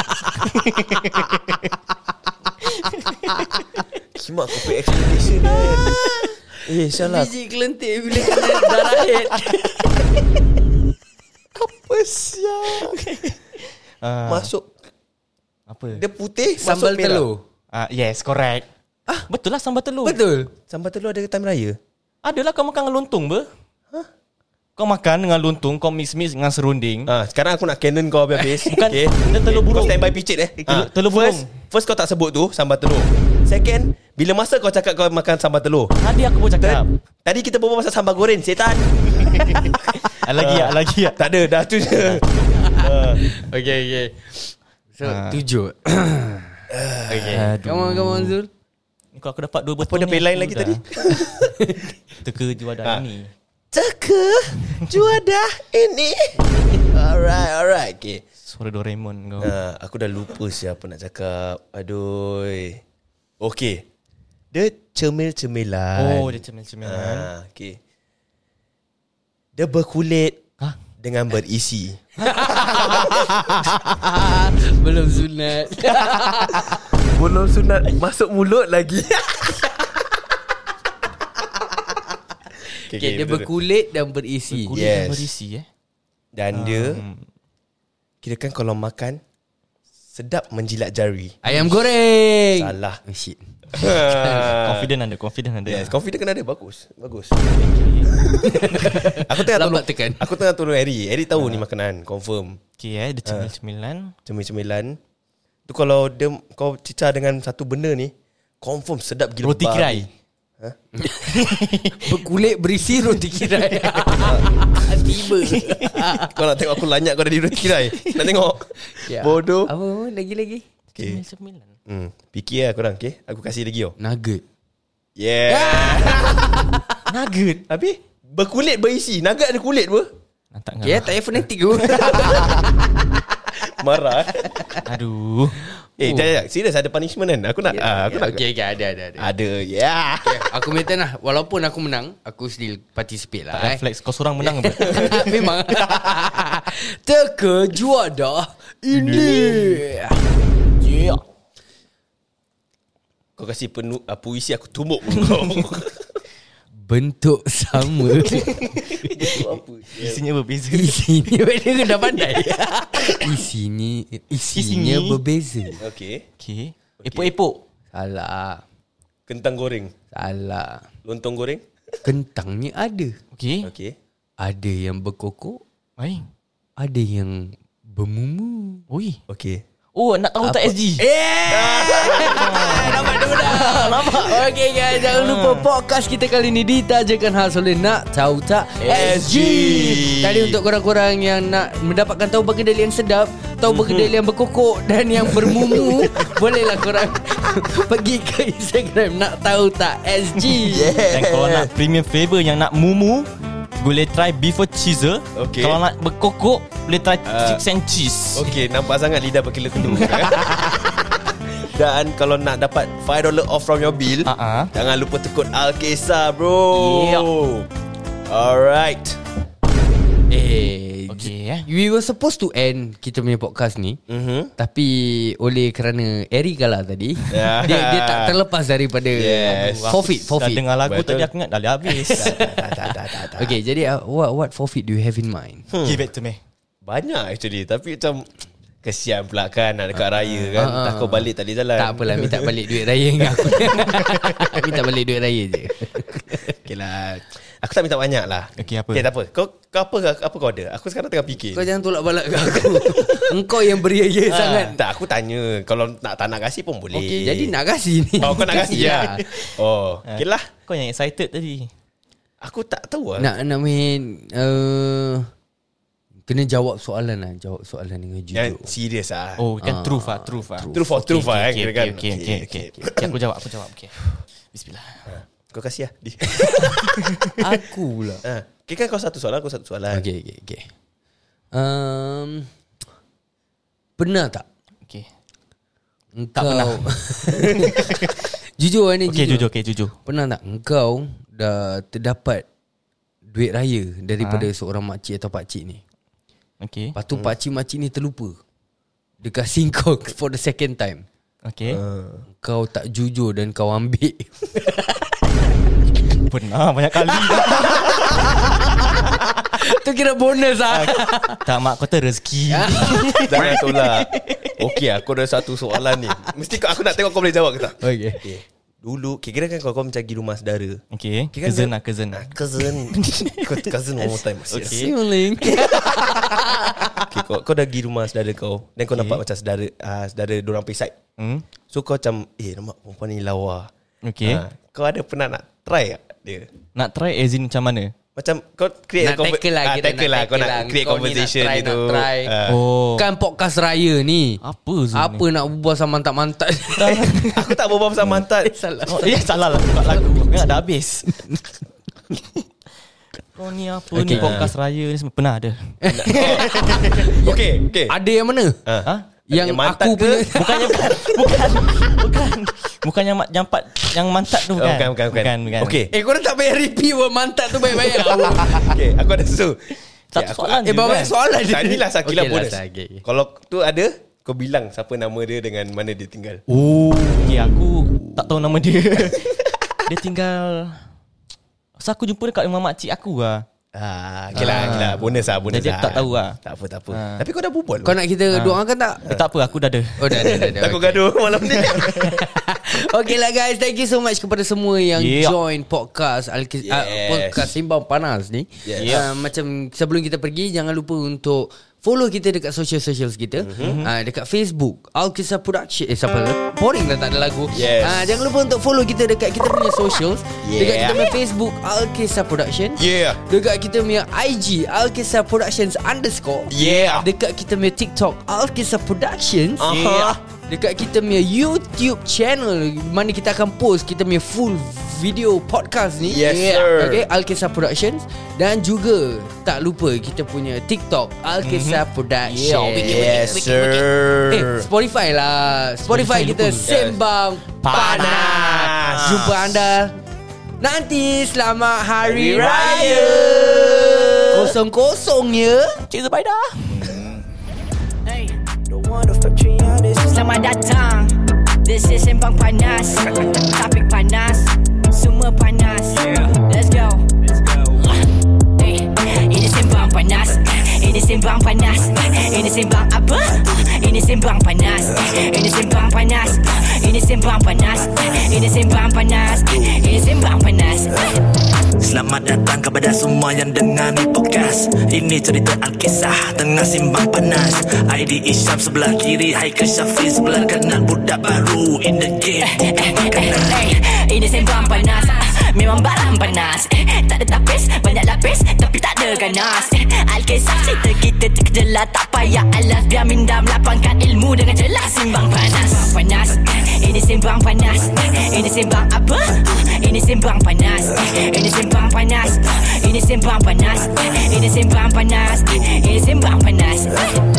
Speaker 2: Kimak aku pay explanation kan. Eh, salah.
Speaker 1: Biji kelentik bila kena darah head.
Speaker 2: Apa siap?
Speaker 3: Ah,
Speaker 2: Masuk.
Speaker 3: apa?
Speaker 2: Dia putih,
Speaker 1: Sambal
Speaker 2: masuk merah.
Speaker 1: telur.
Speaker 3: Ah, yes, correct. Ah, betul lah sambal telur.
Speaker 1: Betul.
Speaker 2: Sambal telur ada time raya?
Speaker 3: Adalah kau makan dengan lontong ber. Kau makan dengan lontong, kau mix-mix dengan serunding.
Speaker 2: Ah, sekarang aku nak canon kau habis-habis.
Speaker 3: Bukan, dia telur burung.
Speaker 2: Kau stand by picit eh.
Speaker 3: Telur-
Speaker 2: Ah,
Speaker 3: telur
Speaker 2: first,
Speaker 3: burung.
Speaker 2: first kau tak sebut tu sambal telur. Second, bila masa kau cakap kau makan sambal telur.
Speaker 3: Tadi aku pun cakap.
Speaker 2: Third, tadi kita berbual pasal sambal goreng, setan.
Speaker 3: Ah, lagi ya, lagi ya.
Speaker 2: Tak ada, dah tu je. Ah.
Speaker 1: Okay, okay. So,
Speaker 3: Ah.
Speaker 1: tujuh. Okay.
Speaker 3: Aduh.
Speaker 1: Come on, come on, Zul.
Speaker 3: Ni kalau aku dapat dua betul
Speaker 2: Apa dia
Speaker 3: ni,
Speaker 2: pay line
Speaker 3: aku
Speaker 2: lagi
Speaker 3: dah.
Speaker 2: tadi?
Speaker 3: Teka juara
Speaker 2: Ah.
Speaker 3: ini.
Speaker 2: Teka juadah ini. Alright, alright. Okay.
Speaker 3: Suara Doraemon kau.
Speaker 2: Uh, aku dah lupa siapa nak cakap. Aduh. Okay. Dia cemil-cemilan.
Speaker 3: Oh, dia cemil-cemilan.
Speaker 2: Ah, okay. Dia berkulit
Speaker 3: Hah?
Speaker 2: dengan berisi.
Speaker 1: Belum sunat.
Speaker 2: Belum sunat masuk mulut lagi.
Speaker 1: Okay, dia berkulit dan berisi.
Speaker 3: Kulit
Speaker 2: Yes.
Speaker 3: yang berisi eh.
Speaker 2: Dan dia kirakan kalau makan sedap menjilat jari.
Speaker 1: Ayam goreng.
Speaker 2: Salah.
Speaker 1: Oh, shit.
Speaker 3: Confident ada, confident ada.
Speaker 2: Yes, confident kena ada. Bagus. Bagus. Aku tengah tolong
Speaker 1: Lambat tekan.
Speaker 2: Aku tengah tolong Harry. Harry tahu ni makanan, confirm.
Speaker 3: Okay eh, dia cemil-cemilan.
Speaker 2: Cemil-cemilan. Tu kalau dia kau cicah dengan satu benda ni, confirm sedap gila.
Speaker 3: Roti
Speaker 2: babi.
Speaker 3: kirai.
Speaker 1: Berkulit berisi roti kirai. Tiba.
Speaker 2: Kau nak tengok aku lanyak kau dari roti kirai? Nak tengok?
Speaker 1: Ya.
Speaker 2: Bodoh.
Speaker 1: Apa lagi-lagi?
Speaker 2: Okay.
Speaker 3: Cemil-cemilan.
Speaker 2: Hmm, fikir lah korang, okay? Aku kasih lagi oh.
Speaker 1: Nugget.
Speaker 2: Yeah.
Speaker 3: Nugget.
Speaker 2: Habis berkulit berisi. Nugget ada kulit apa?
Speaker 3: Nantak
Speaker 1: Okay,
Speaker 3: ngah.
Speaker 1: tak payah fonetik tu.
Speaker 2: Marah.
Speaker 3: Aduh.
Speaker 2: Eh, jap, jap. Serius ada punishment kan? Aku nak ah, aku nak
Speaker 1: Okay, okay, ada, ada, ada.
Speaker 2: ada. Yeah.
Speaker 1: Okay, aku maintain lah. Walaupun aku menang, aku still participate lah.
Speaker 3: Tak
Speaker 1: Eh.
Speaker 3: reflex. Kau seorang menang apa?
Speaker 1: Memang. Teka juara ini.
Speaker 3: Yeah.
Speaker 2: Kau kasih penuh uh, puisi aku tumbuk muka kau.
Speaker 1: bentuk sama.
Speaker 3: Isinya berbeza.
Speaker 1: Isinya dia dah pandai. Isinya isinya
Speaker 3: Isinya.
Speaker 1: berbeza.
Speaker 2: Okay.
Speaker 3: Okay. Epok-epok.
Speaker 1: Salah.
Speaker 2: Kentang goreng.
Speaker 1: Salah.
Speaker 2: Lontong goreng.
Speaker 1: Kentangnya ada.
Speaker 3: Okay.
Speaker 2: Okay.
Speaker 1: Ada yang berkokok,
Speaker 3: Baik.
Speaker 1: ada yang bermumu.
Speaker 3: Oi.
Speaker 2: Okay.
Speaker 3: Oh, nak tahu tak S G?
Speaker 1: Nampak tu dah. Nampak. Okay guys, jangan lupa podcast kita kali ni ditajakan khas oleh Nak Tahu Tak S G. Tadi untuk korang-korang yang nak mendapatkan tahu berkedel yang sedap, tahu berkedel yang berkokok dan yang bermumu, bolehlah korang pergi ke Instagram Nak Tahu Tak S G.
Speaker 3: Dan kalau nak premium flavour yang nak mumu, boleh try beef or cheese.
Speaker 2: Okay.
Speaker 3: Kalau nak berkokok, boleh try
Speaker 2: Uh,
Speaker 3: chips and cheese.
Speaker 2: Okay, nampak sangat lidah berkelu-kelu. Dan kalau nak dapat five dollars off from your bill,
Speaker 3: Uh-uh.
Speaker 2: jangan lupa tekut Alkisah, bro.
Speaker 3: Yep.
Speaker 2: Alright.
Speaker 1: Eh,
Speaker 3: Okay, eh.
Speaker 1: we were supposed to end kita punya podcast ni.
Speaker 2: Mhm.
Speaker 1: Tapi oleh kerana Eric kalah tadi,
Speaker 2: Yeah.
Speaker 1: dia dia tak terlepas daripada
Speaker 2: Yes.
Speaker 1: forfeit,
Speaker 3: Dah
Speaker 1: forfeit.
Speaker 3: dengar lagu
Speaker 2: Betul.
Speaker 3: tadi aku ingat dah habis.
Speaker 2: Tak, tak, tak, tak, tak.
Speaker 1: Okay, jadi uh, what what forfeit do you have in mind?
Speaker 3: Give it to me.
Speaker 2: Banyak actually. Tapi macam kesian pula kan nak dekat raya kan.
Speaker 1: uh, uh.
Speaker 2: Takut balik tak boleh jalan.
Speaker 1: Tak apalah, minta balik duit raya dengan aku. Minta balik duit raya je.
Speaker 2: Okay lah. Aku tak minta banyak lah.
Speaker 3: Okay, apa?
Speaker 2: Okay, tak apa. Kau, kau apa apa kau ada? Aku sekarang tengah fikir.
Speaker 1: Kau jangan tolak balak kat aku. Engkau yang beria-ia
Speaker 2: Ah,
Speaker 1: sangat.
Speaker 2: Tak, aku tanya. Kalau nak tak nak kasih pun boleh.
Speaker 1: Okay, jadi nak kasih ni.
Speaker 2: Oh, kau nak kasih ya? Oh, okay lah.
Speaker 3: Kau yang excited tadi.
Speaker 2: Aku tak tahu lah.
Speaker 1: Nak nak main uh, kena jawab soalan lah. Jawab soalan dengan
Speaker 2: Yang
Speaker 1: jujur.
Speaker 2: serius lah.
Speaker 3: Oh, kan truth ah, truth ah.
Speaker 2: Truth for truth lah,
Speaker 3: Okay,
Speaker 2: kira kan.
Speaker 3: okay, okay, okay, okay. Okay, aku jawab, aku jawab. Okay. Bismillah.
Speaker 2: Kau kasih lah. Di.
Speaker 1: Aku pula.
Speaker 2: Ah, okay kan kau satu soalan, aku satu soalan.
Speaker 1: Okay, okay, okay. Um, pernah tak
Speaker 3: Okay.
Speaker 1: engkau
Speaker 3: pernah.
Speaker 1: jujur ni
Speaker 3: Okay,
Speaker 1: jujur.
Speaker 3: jujur, okay, jujur.
Speaker 1: Pernah tak engkau dah terdapat duit raya daripada ha? seorang makcik atau pakcik ni?
Speaker 3: Okay.
Speaker 1: Lepas tu hmm. pakcik-makcik ni terlupa. Dia kasih kau for the second time.
Speaker 3: Okay.
Speaker 2: Uh,
Speaker 1: Kau tak jujur dan kau ambil.
Speaker 3: Pernah banyak kali dah.
Speaker 1: Tu kira bonus lah.
Speaker 3: Tak, mak kata rezeki.
Speaker 2: jangan tolak. Okay, aku ada satu soalan ni. Mesti kau, aku nak tengok kau boleh jawab ke tak?
Speaker 1: Okay.
Speaker 2: Okay. Dulu, okay, kira kan kau, kau mencari rumah saudara.
Speaker 3: Okay.
Speaker 2: Okay, kan
Speaker 3: Cousin
Speaker 2: dia-
Speaker 3: lah, cousin.
Speaker 2: Ah, cousin. Cousin one more time.
Speaker 3: Okay.
Speaker 1: Siuling.
Speaker 2: Okay, kau, kau dah pergi rumah saudara kau. Dan kau
Speaker 3: Okay.
Speaker 2: nampak macam saudara uh, saudara dorang pergi side.
Speaker 3: Hmm?
Speaker 2: So kau macam, eh nampak perempuan ni lawa.
Speaker 3: Okay.
Speaker 2: Ah, kau ada pernah nak try tak dia?
Speaker 3: Nak try as in macam mana?
Speaker 2: Macam kau create
Speaker 1: Nak tackle lah,
Speaker 2: ah,
Speaker 1: kita
Speaker 2: tackle
Speaker 1: nak
Speaker 2: lah. Kau
Speaker 1: tackle
Speaker 2: nak
Speaker 1: lah.
Speaker 2: create
Speaker 1: Kau ni nak
Speaker 2: conversation
Speaker 1: try,
Speaker 2: gitu.
Speaker 1: nak try.
Speaker 2: Ah.
Speaker 3: Oh.
Speaker 1: Kan podcast raya ni.
Speaker 3: Apa Zul
Speaker 1: Apa
Speaker 3: ni?
Speaker 1: nak berbual sama mantat-mantat.
Speaker 2: Aku tak berbual pasal mantat.
Speaker 1: Salah.
Speaker 3: Oh, ya salah lah buka lagu. Ingat dah habis. Kau ni apa
Speaker 1: Okay.
Speaker 3: ni podcast raya ni semua pernah ada.
Speaker 2: Okay, okay.
Speaker 1: Ada yang mana?
Speaker 2: Ah.
Speaker 3: Ha?
Speaker 1: Yang
Speaker 2: Yang mantat
Speaker 1: aku
Speaker 2: ke?
Speaker 1: punya.
Speaker 3: Bukannya bukan bukan bukan bukan yang mat- jampat yang mantat tu
Speaker 2: Oh,
Speaker 3: bukan.
Speaker 2: bukan, bukan, bukan.
Speaker 3: bukan, bukan.
Speaker 2: Okay.
Speaker 1: Eh, korang tak payah repeat buat mantat tu baik-baik.
Speaker 2: Okay, aku ada sesuatu.
Speaker 3: Satu
Speaker 2: Okay, aku-
Speaker 3: soalan
Speaker 1: Eh,
Speaker 3: je
Speaker 1: bawa
Speaker 3: kan?
Speaker 1: soalan je.
Speaker 2: Tadilah Sakila
Speaker 1: Okay,
Speaker 2: bonus.
Speaker 1: last, okay, okay.
Speaker 2: Kalau tu ada, kau bilang siapa nama dia dengan mana dia tinggal.
Speaker 3: Oh, okay, aku tak tahu nama dia. Dia tinggal. So aku jumpa dekat rumah makcik aku lah.
Speaker 2: Ah, okay lah, okay lah. Bonus lah, bonus
Speaker 3: Jadi
Speaker 2: lah.
Speaker 3: aku tak tahu lah.
Speaker 2: Tak apa, tak apa.
Speaker 3: Ah.
Speaker 2: Tapi kau dah berbual.
Speaker 1: Kau nak kita doakan tak?
Speaker 3: Eh, tak apa, aku dah ada.
Speaker 1: Oh, dah, dah, dah. dah.
Speaker 2: Takut gaduh malam ni.
Speaker 1: Okay lah guys, thank you so much kepada semua yang
Speaker 3: Yeah.
Speaker 1: join podcast Alkis,
Speaker 2: Yes.
Speaker 1: uh, podcast Simbang Panas ni.
Speaker 2: Yes.
Speaker 1: Uh, macam sebelum kita pergi, jangan lupa untuk follow kita dekat social-socials kita. Mm-hmm. Uh, dekat Facebook Alkisah Production. Eh siapa? Boring lah tak ada lagu.
Speaker 2: Yes.
Speaker 1: Uh, jangan lupa untuk follow kita dekat kita punya socials.
Speaker 2: Yeah.
Speaker 1: Dekat kita punya Facebook Alkisah Production.
Speaker 2: Yeah.
Speaker 1: Dekat kita punya I G Alkisah Productions underscore.
Speaker 2: Yeah.
Speaker 1: Dekat kita punya TikTok Alkisah Productions.
Speaker 2: Aha.
Speaker 1: Yeah. Dekat kita punya YouTube channel, mana kita akan post kita punya full video podcast ni.
Speaker 2: Yes, sir.
Speaker 1: Okay, Alkisah Productions. Dan juga tak lupa kita punya TikTok Alkisah mm-hmm. Productions.
Speaker 3: Yeah, wiki, wiki,
Speaker 2: Yes, sir.
Speaker 1: Eh, Spotify lah. Spotify,
Speaker 3: Spotify
Speaker 1: kita
Speaker 3: lupa.
Speaker 1: Sembang Panas.
Speaker 2: Panas.
Speaker 1: Jumpa anda nanti. Selamat Hari
Speaker 2: Hari
Speaker 1: Raya.
Speaker 2: Raya.
Speaker 1: Kosong-kosong ya.
Speaker 3: Cheers, bye dah.
Speaker 4: Selamat datang. This is Sembang Panas. Topik panas. Semua semua panas. Let's go. Hey, ini sembang panas. Ini sembang panas. Ini sembang apa? Ini sembang panas. Ini sembang panas. Ini sembang panas. Ini sembang panas. Ini sembang panas.
Speaker 5: Selamat datang kepada semua yang dengar ni podcast. Ini cerita Alkisah tengah simbang panas. I D Isyam sebelah kiri, Haikal Syafiq sebelah kanan. Budak baru in the game, bukan makanan.
Speaker 4: Ini sembang panas. Memang barang panas. Tak ada tapis, banyak lapis, tapi tak ada ganas. Alkisah cerita kita terkejelas, tak payah alas. Biar minda melapangkan ilmu dengan jelas. Simbang panas, panas. Ini simbang panas. Ini simbang apa? Ini simbang panas. Ini simbang panas. Ini simbang panas. Ini simbang panas. Ini simbang panas.